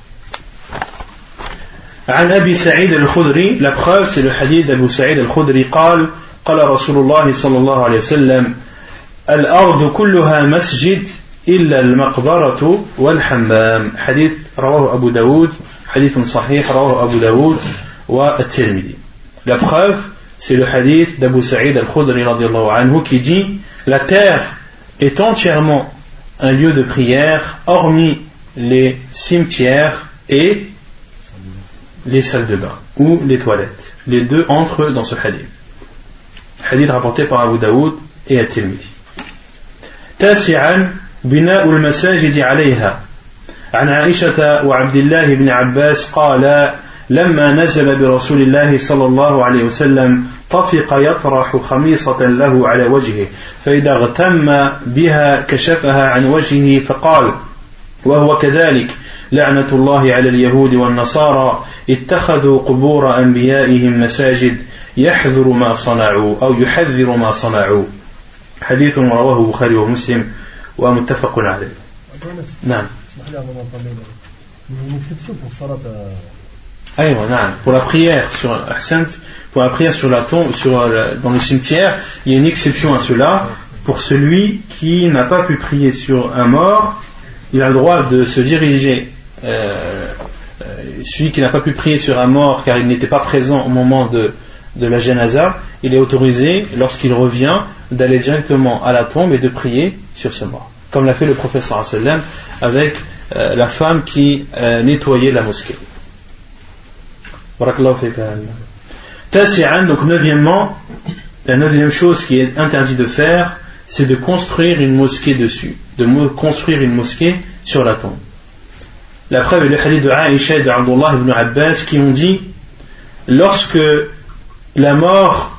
عن أبي سعيد الخدري, la preuve c'est le hadith d'Abu Sa'id al-Khudri قال قال رسول الله صلى الله عليه وسلم الأرض كلها مسجد إلا المقبرة والحمام. حديث رواه أبو داود, حديث صحيح رواه أبو داود والترمذي. La preuve, c'est le hadith d'Abu Sa'id al-Khudri radiyallahu anhu qui dit la terre est entièrement un lieu de prière hormis les cimetières et les salles de bain ou les toilettes. Les deux entrent dans ce hadith. Hadith rapporté par Abu Daoud et At-Tirmidhi. تاسعا بناء المساجد عليها. عن عائشة وعبد الله بن عباس قال لما نزل برسول الله صلى الله عليه وسلم طفق يطرح خميصة له على وجهه فإذا اغتم بها كشفها عن وجهه فقال وهو كذلك لعنة الله على اليهود والنصارى اتخذوا قبور أنبيائهم مساجد يحذر ما صنعوا أو يحذر ما صنعوا. حديث رواه البخاري ومسلم ومتفق عليه. نعم. أيوة نعم. Pour la prière sur pour la prière sur la tombe, sur dans le cimetière, il y a une exception à cela. Pour celui qui n'a pas pu prier sur un mort, il a le droit de se diriger. Euh, celui qui n'a pas pu prier sur un mort car il n'était pas présent au moment de de la janaza, il est autorisé lorsqu'il revient d'aller directement à la tombe et de prier sur ce mort, comme l'a fait le prophète sallallahu alayhi wa sallam avec euh, la femme qui euh, nettoyait la mosquée. Barakallahu fika. Tasi'an, donc neuvièmement, la neuvième chose qui est interdit de faire, c'est de construire une mosquée dessus, de construire une mosquée sur la tombe. La preuve est le hadith de Aïcha et d'Abdullah ibn Abbas qui ont dit lorsque la mort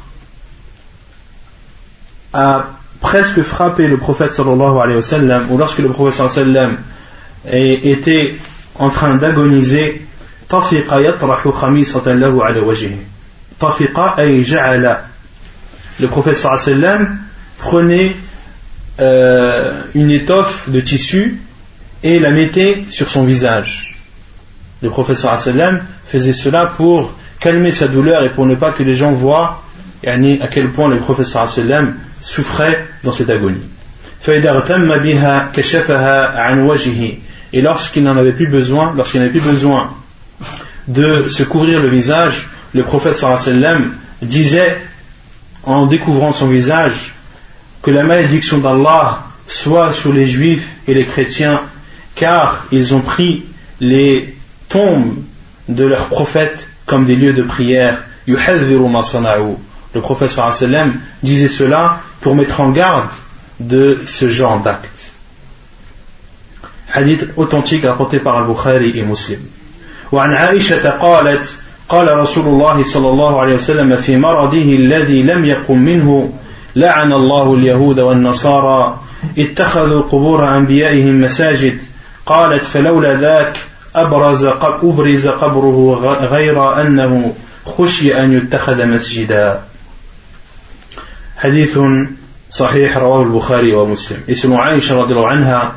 a presque frappé le prophète sallallahu alayhi wa sallam, ou lorsque le prophète sallallahu alayhi wa sallam était en train d'agoniser, tafiqa yatrahu khamisatan lahu ala wajhihi. Tafiqa ay ja'ala. Le prophète sallallahu alayhi wa sallam prenait euh, une étoffe de tissu et la mettait sur son visage. Le prophète sallallahu alayhi wa sallam faisait cela pour calmer sa douleur et pour ne pas que les gens voient yani, à quel point le prophète sallallahu alayhi wa sallam souffrait dans cette agonie. Et lorsqu'il n'en avait plus besoin, lorsqu'il n'avait plus besoin de se couvrir le visage, le prophète sallallahu alayhi wa sallam disait en découvrant son visage que la malédiction d'Allah soit sur les juifs et les chrétiens, car ils ont pris les tombes de leurs prophètes comme des lieux de prière. yuhadhiru ma sana'u. Le prophète sallallahu alayhi wa sallam disait cela pour mettre en garde de ce genre d'acte. Hadith authentique rapporté par Al-Bukhari et Muslim. وعن عائشة قالت قال رسول الله صلى الله عليه وسلم في مرضه الذي لم يقم منه لعن الله اليهود والنصارى اتخذوا قبور أنبيائهم مساجد قالت فلولا ذاك أبرز أبرز قبره غير أنه خشي أن يتخذ مسجدا. حديث صحيح رواه البخاري ومسلم. Et selon Aïcha radiallahu anha,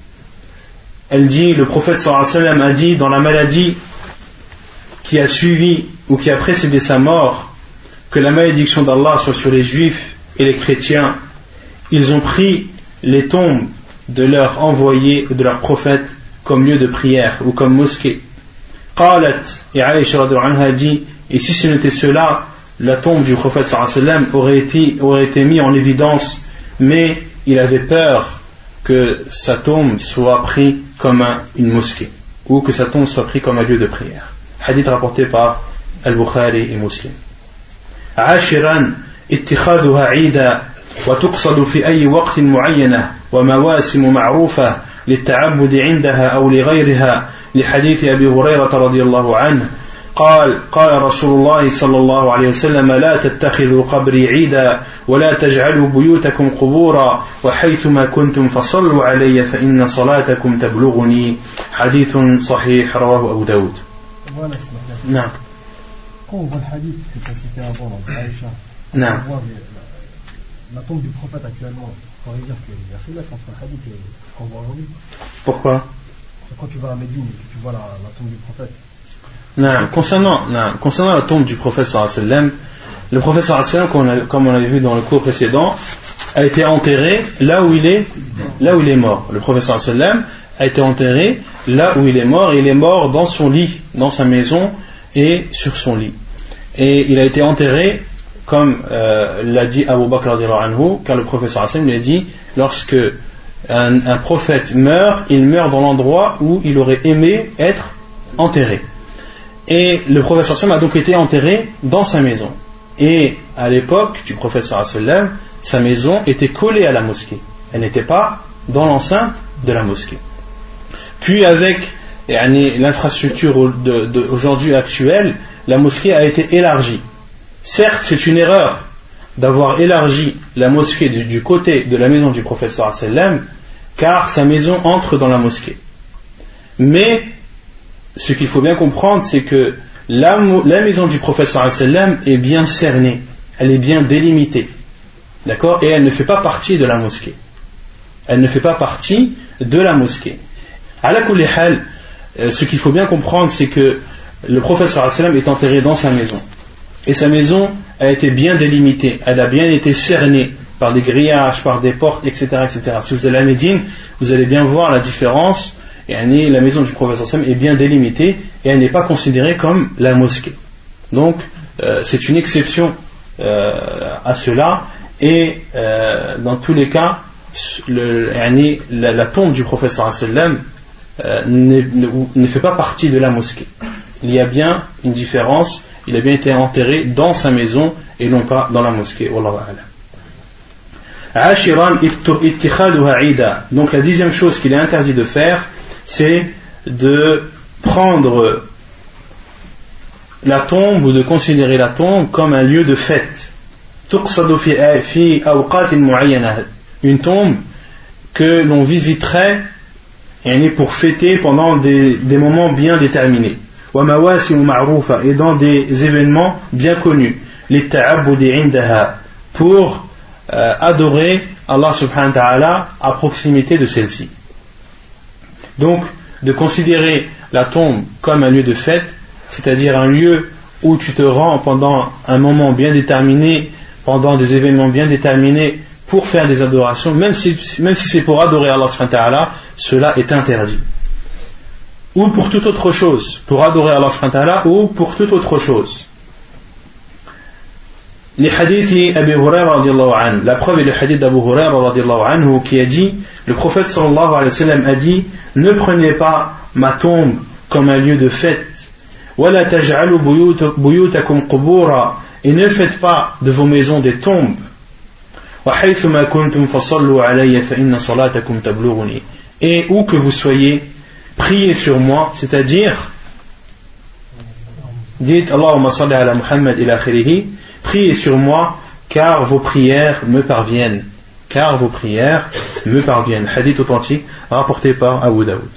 elle dit, le prophète sallallahu alayhi wa sallam a dit, dans la maladie qui a suivi ou qui a précédé sa mort, que la malédiction d'Allah soit sur les juifs et les chrétiens. Ils ont pris les tombes de leurs envoyés, de leurs prophètes, comme lieu de prière ou comme mosquée. Qalat, et Aïcha radiallahu anha dit, et si ce n'était cela, la tombe du prophète sallallahu alayhi wa sallam aurait été, aurait été mise en évidence, mais il avait peur que sa tombe soit prise comme un, une mosquée, ou que sa tombe soit prise comme un lieu de prière. Hadith rapporté par Al-Bukhari et Muslim. عاشرا اتخاذها عيدا وتقصد في أي وقت معينة ومواسم معروفة للتعبد عندها أو لغيرها لحديث أبي هريرة رضي الله عنه قال قال رسول الله صلى الله عليه وسلم لا تتخذوا قبري عيدا ولا تجعلوا بيوتكم قبورا وحيثما كنتم فصلوا علي فإن صلاتكم تبلغني. حديث صحيح رواه أبو داود. نعم. Quand on voit le hadith que tu as cité avant, Aïcha, non. on voit la tombe du prophète actuellement, on pourrait dire qu'il y a khilaf entre le hadith et ce qu'on voit aujourd'hui. Pourquoi? Quand tu vas à Médine et que tu vois la, la tombe du prophète. Non, concernant, non, concernant la tombe du prophète sallallahu alayhi wa sallam, le prophète sallallahu alayhi wa sallam, comme on l'avait vu dans le cours précédent, a été enterré là où il est, là où il est mort. Le prophète sallallahu alayhi wa sallam a été enterré là où il est mort, et il est mort dans son lit, dans sa maison et sur son lit. Et il a été enterré, comme euh, l'a dit Abu Bakr radhiyallahu anhu, car le prophète sallallahu alayhi wa sallam lui a dit, lorsque un, un prophète meurt, il meurt dans l'endroit où il aurait aimé être enterré. Et le prophète sallallahu alayhi wa sallam a donc été enterré dans sa maison. Et à l'époque du prophète sallallahu alayhi wa sallam, sa maison était collée à la mosquée. Elle n'était pas dans l'enceinte de la mosquée. Puis avec yani, l'infrastructure de, de, aujourd'hui actuelle, la mosquée a été élargie. Certes, c'est une erreur d'avoir élargi la mosquée du, du côté de la maison du prophète sallallahu alayhi wa sallam, car sa maison entre dans la mosquée. Mais ce qu'il faut bien comprendre, c'est que la, la maison du prophète sallallahu alayhi wa sallam est bien cernée, elle est bien délimitée, d'accord, et elle ne fait pas partie de la mosquée. Elle ne fait pas partie de la mosquée. Ala kulli hal, ce qu'il faut bien comprendre, c'est que le prophète sallallahu alayhi wa sallam est enterré dans sa maison, et sa maison a été bien délimitée, elle a bien été cernée par des grillages, par des portes, et cetera, et cetera. Si vous allez à Médine, vous allez bien voir la différence. Et la maison du prophète sallallahu alayhi wa sallam est bien délimitée et elle n'est pas considérée comme la mosquée. Donc euh, c'est une exception euh, à cela, et euh, dans tous les cas le, la, la tombe du prophète sallallahu alayhi wa sallam euh, ne, ne, ne fait pas partie de la mosquée. Il y a bien une différence, il a bien été enterré dans sa maison et non pas dans la mosquée. Wallahu a'lam. Ashiran ittikhaduha ida. Donc la dixième chose qu'il est interdit de faire, c'est de prendre la tombe ou de considérer la tombe comme un lieu de fête. Une tombe que l'on visiterait pour fêter pendant des, des moments bien déterminés. Et dans des événements bien connus. Pour euh, adorer Allah subhanahu wa ta'ala à proximité de celle-ci. Donc, de considérer la tombe comme un lieu de fête, c'est-à-dire un lieu où tu te rends pendant un moment bien déterminé, pendant des événements bien déterminés, pour faire des adorations, même si, même si c'est pour adorer Allah subhanahu wa ta'ala, cela est interdit. Ou pour toute autre chose, pour adorer Allah subhanahu wa ta'ala, ou pour toute autre chose. les hadiths Abu Hurairah radiallahu anhu. La preuve est le hadith d'Abu Hurairah radiallahu anhu qui a dit, le prophète sallallahu alayhi wa sallam a dit, ne prenez pas ma tombe comme un lieu de fête, وَلَا تَجْعَلُوا بُيُوتَكُمْ قُبُورًا, et ne faites pas de vos maisons des tombes, وَحَيْثُمَا كُنْتُمْ فَصَلُّوا عَلَيَّ فَإِنَّ صَلَاتَكُمْ تَبْلُغُنِي, et où que vous soyez, priez sur moi, c'est-à-dire dites Allahumma salli ala Muhammad ila akhirih, priez sur moi car vos prières me parviennent, car vos prières me parviennent. Hadith authentique rapporté par Abu Daoud.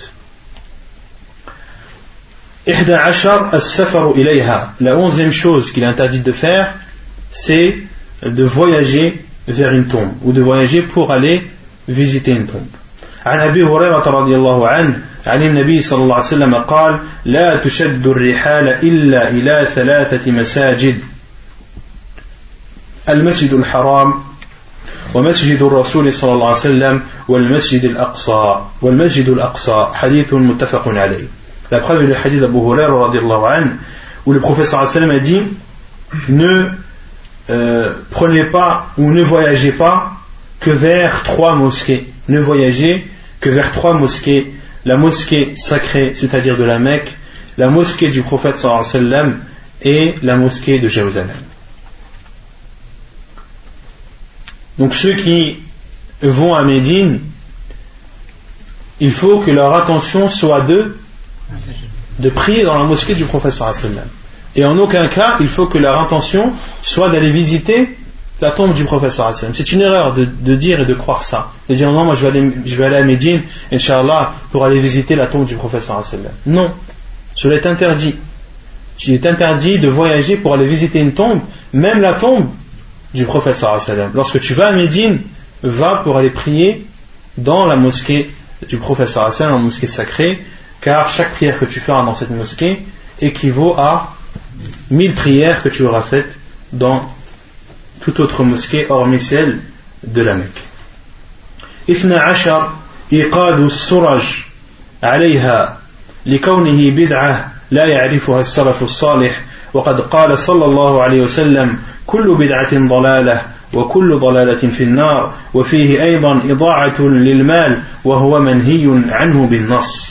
ihda ashar as-safaru ilayha, la onzième chose qu'il est interdit de faire, c'est de voyager vers une tombe, ou de voyager pour aller visiter une tombe. عن أبي هريرة رضي الله عنه عن النبي صلى الله عليه وسلم قال لا تشد الرحال إلا إلى ثلاثة مساجد المسجد الحرام ومسجد الرسول صلى الله عليه وسلم والمسجد الأقصى والمسجد الأقصى حديث متفق عليه. La preuve est le hadith d'Abu Hurairah رضي الله عنه où le prophète صلى الله عليه وسلم a dit ne euh, prenez pas ou ne voyagez pas que vers trois mosquées, ne voyagez que vers trois mosquées, la mosquée sacrée, c'est-à-dire de la Mecque, la mosquée du prophète sallallahu alayhi wa sallam et la mosquée de Jérusalem. Donc ceux qui vont à Médine, il faut que leur attention soit de, de prier dans la mosquée du prophète sallallahu alayhi wa sallam. Et en aucun cas, il faut que leur intention soit d'aller visiter la tombe du prophète sallallahu alayhi wa sallam. C'est une erreur de, de dire et de croire ça. De dire non, moi je vais aller, je vais aller à Médine, Inch'Allah, pour aller visiter la tombe du prophète sallallahu alayhi wa sallam. Non, cela est interdit. Il est interdit de voyager pour aller visiter une tombe, même la tombe du prophète sallallahu alayhi wa sallam. Lorsque tu vas à Médine, va pour aller prier dans la mosquée du prophète sallallahu alayhi wa sallam, la mosquée sacrée, car chaque prière que tu feras dans cette mosquée équivaut à mille prières que tu auras faites dans toute autre mosquée hormis celle de la Mecque. اثنا عشر إيقاد السرج عليها لكونه بدعة لا يعرفها السلف الصالح وقد قال صلى الله عليه وسلم كل بدعة ضلالة وكل ضلالة في النار وفيه أيضا إضاعة للمال وهو منهي عنه بالنص.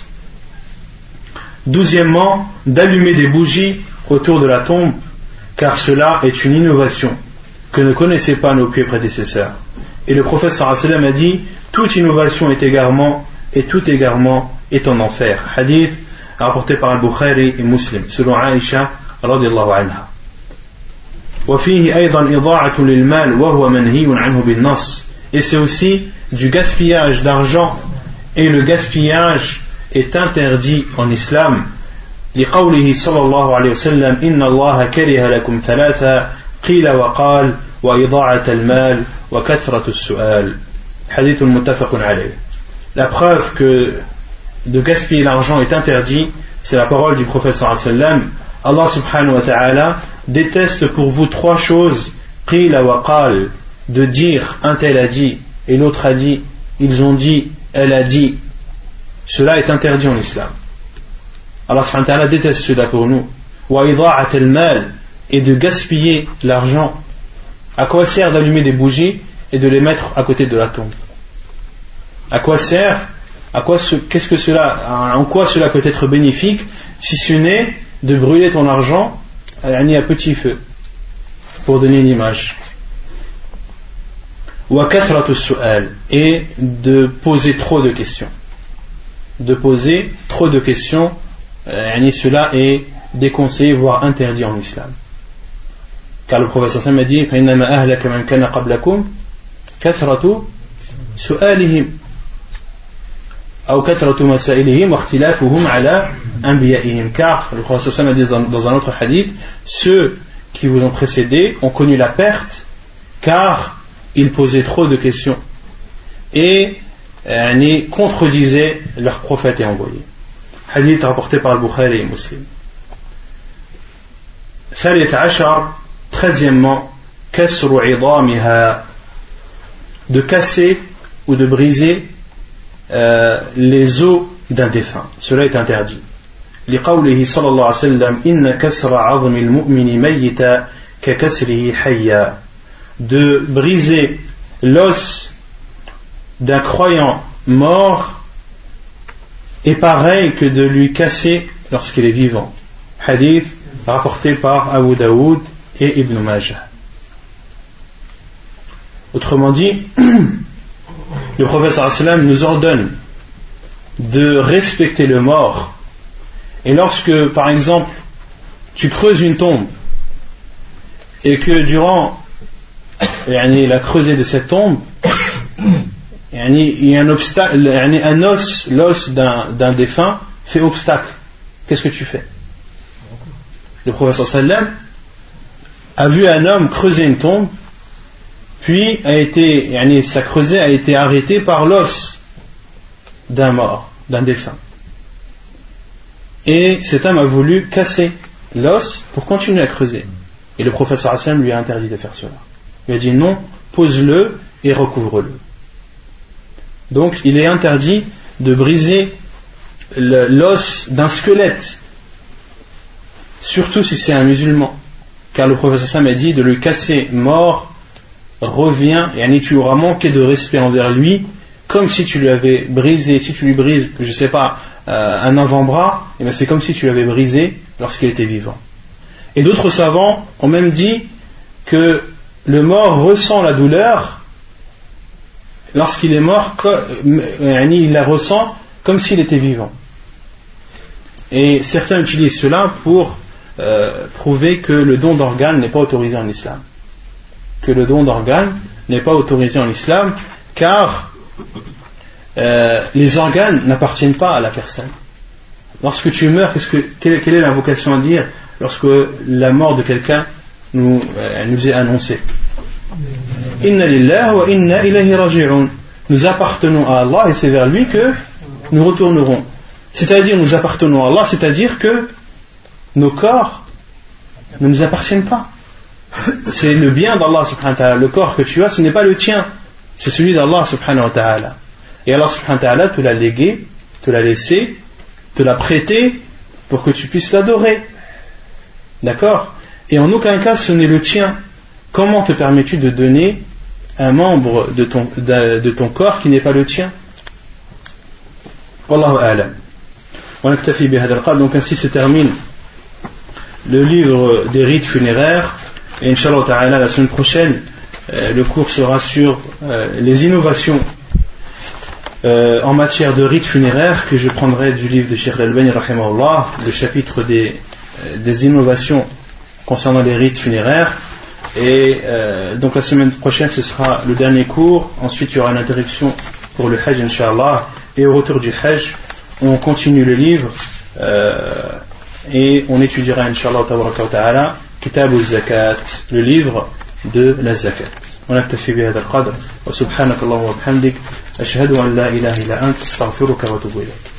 Douzièmement, d'allumer des bougies autour de la tombe, car cela est une innovation que ne connaissaient pas nos pieux prédécesseurs. Et le prophète sallallahu alayhi wa sallam a dit toute innovation est égarement et tout égarement est en enfer. Hadith rapporté par Al-Bukhari et Muslim selon Aïcha radiyallahu anha. وفيه أيضا إضاعة للمال وهو منهي عنه بالنص. Et c'est aussi du gaspillage d'argent, et le gaspillage est interdit en islam. لقوله صلى الله عليه وسلم إن الله كره لكم ثلاثة قيل وقال وإضاعة المال وكثرة السؤال. حديث متفق عليه. La preuve que de gaspiller l'argent est interdit, c'est la parole du prophète sallallahu alayhi wa sallam. Allah subhanahu wa ta'ala déteste pour vous trois choses, qila wa qal, de dire un tel a dit et l'autre a dit, ils ont dit, elle a dit. Cela est interdit en islam. Allah subhanahu wa ta'ala déteste cela pour nous. Wa ida'at al-mal, et de gaspiller l'argent. À quoi sert d'allumer des bougies et de les mettre à côté de la tombe? À quoi sert? À quoi ce, qu'est-ce que cela, en quoi cela peut être bénéfique si ce n'est de brûler ton argent à petit feu pour donner une image? Wa kathratu su'al, et de poser trop de questions. De poser trop de questions, euh, cela est déconseillé, voire interdit en islam. Car le prophète sallallahu alayhi wa sallam a dit فَإِنَّمَا أَهْلَكَ مَنْ كَانَ قَبْلَكُمْ كَثْرَةُ سُؤَالِهِمْ أو كثرة مسائلهم واختلافهم على أنبيائهم. Car le prophète sallallahu alayhi wa sallam a dit dans, dans un autre hadith, ceux qui vous ont précédés ont connu la perte car ils posaient trop de questions et euh, contredisaient leurs prophètes et envoyés. Hadith rapporté par Al-Bukhari et Muslim. ثالث عشر, treizièmement, كسر عظامها, de casser ou de briser euh, les os d'un défunt. Cela est interdit. لقوله صلى الله عليه وسلم إن كسر عظم المؤمن ميتا ككسره حيا, de briser l'os d'un croyant mort est pareil que de lui casser lorsqu'il est vivant. Hadith rapporté par Abu Daoud et Ibn Majah. Autrement dit, le prophète sallallahu alayhi wa sallam nous ordonne de respecter le mort. Et lorsque, par exemple, tu creuses une tombe et que durant la creusée de cette tombe, il y a un obstacle, un os, l'os d'un, d'un défunt fait obstacle, qu'est-ce que tu fais? Le prophète sallallahu alayhi wa sallam a vu un homme creuser une tombe, puis a été, sa creusée a été arrêtée par l'os d'un mort, d'un défunt. Et cet homme a voulu casser l'os pour continuer à creuser. Et le prophète sallallahu alayhi wa sallam lui a interdit de faire cela. Il a dit non, pose-le et recouvre-le. Donc il est interdit de briser le, l'os d'un squelette, surtout si c'est un musulman, car le prophète sallallahu alayhi wa sallam a dit de le casser mort revient, et tu auras manqué de respect envers lui, comme si tu lui avais brisé, si tu lui brises, je sais pas, euh, un avant-bras, et bien c'est comme si tu l'avais brisé lorsqu'il était vivant. Et d'autres savants ont même dit que le mort ressent la douleur lorsqu'il est mort, il la ressent comme s'il était vivant. Et certains utilisent cela pour euh, prouver que le don d'organes n'est pas autorisé en islam. Que le don d'organes n'est pas autorisé en islam, car euh, les organes n'appartiennent pas à la personne. Lorsque tu meurs, qu'est-ce que, quelle, quelle est l'invocation à dire lorsque la mort de quelqu'un nous, euh, nous est annoncée? Inna lillahi wa inna ilayhi raji'un. Nous appartenons à Allah et c'est vers lui que nous retournerons. C'est-à-dire, nous appartenons à Allah, c'est-à-dire que nos corps ne nous appartiennent pas. C'est le bien d'Allah subhanahu wa ta'ala. Le corps que tu as, ce n'est pas le tien, c'est celui d'Allah subhanahu wa ta'ala. Et Allah subhanahu wa ta'ala te l'a légué, te l'a laissé, te l'a prêté pour que tu puisses l'adorer. D'accord? Et en aucun cas ce n'est le tien. Comment te permets-tu de donner un membre de ton, de, de ton corps qui n'est pas le tien? Wallahu a'lam. Donc ainsi se termine le livre des rites funéraires. Et Inch'Allah ta'ala, la semaine prochaine, euh, le cours sera sur euh, les innovations euh, en matière de rites funéraires, que je prendrai du livre de Cheikh Al-Albani rahimahullah, le chapitre des, euh, des innovations concernant les rites funéraires. Et euh, donc la semaine prochaine ce sera le dernier cours. Ensuite il y aura une interruption pour le Hajj Inch'Allah. Et au retour du Hajj on continue le livre euh, et on étudiera Inch'Allah ta'ala Kitab al-Zakat, le livre de la Zakat. ونكتفي بهذا القدر وسبحانك اللهم وبحمدك أشهد أن لا إله إلا أنت أستغفرك وأتوب إليك.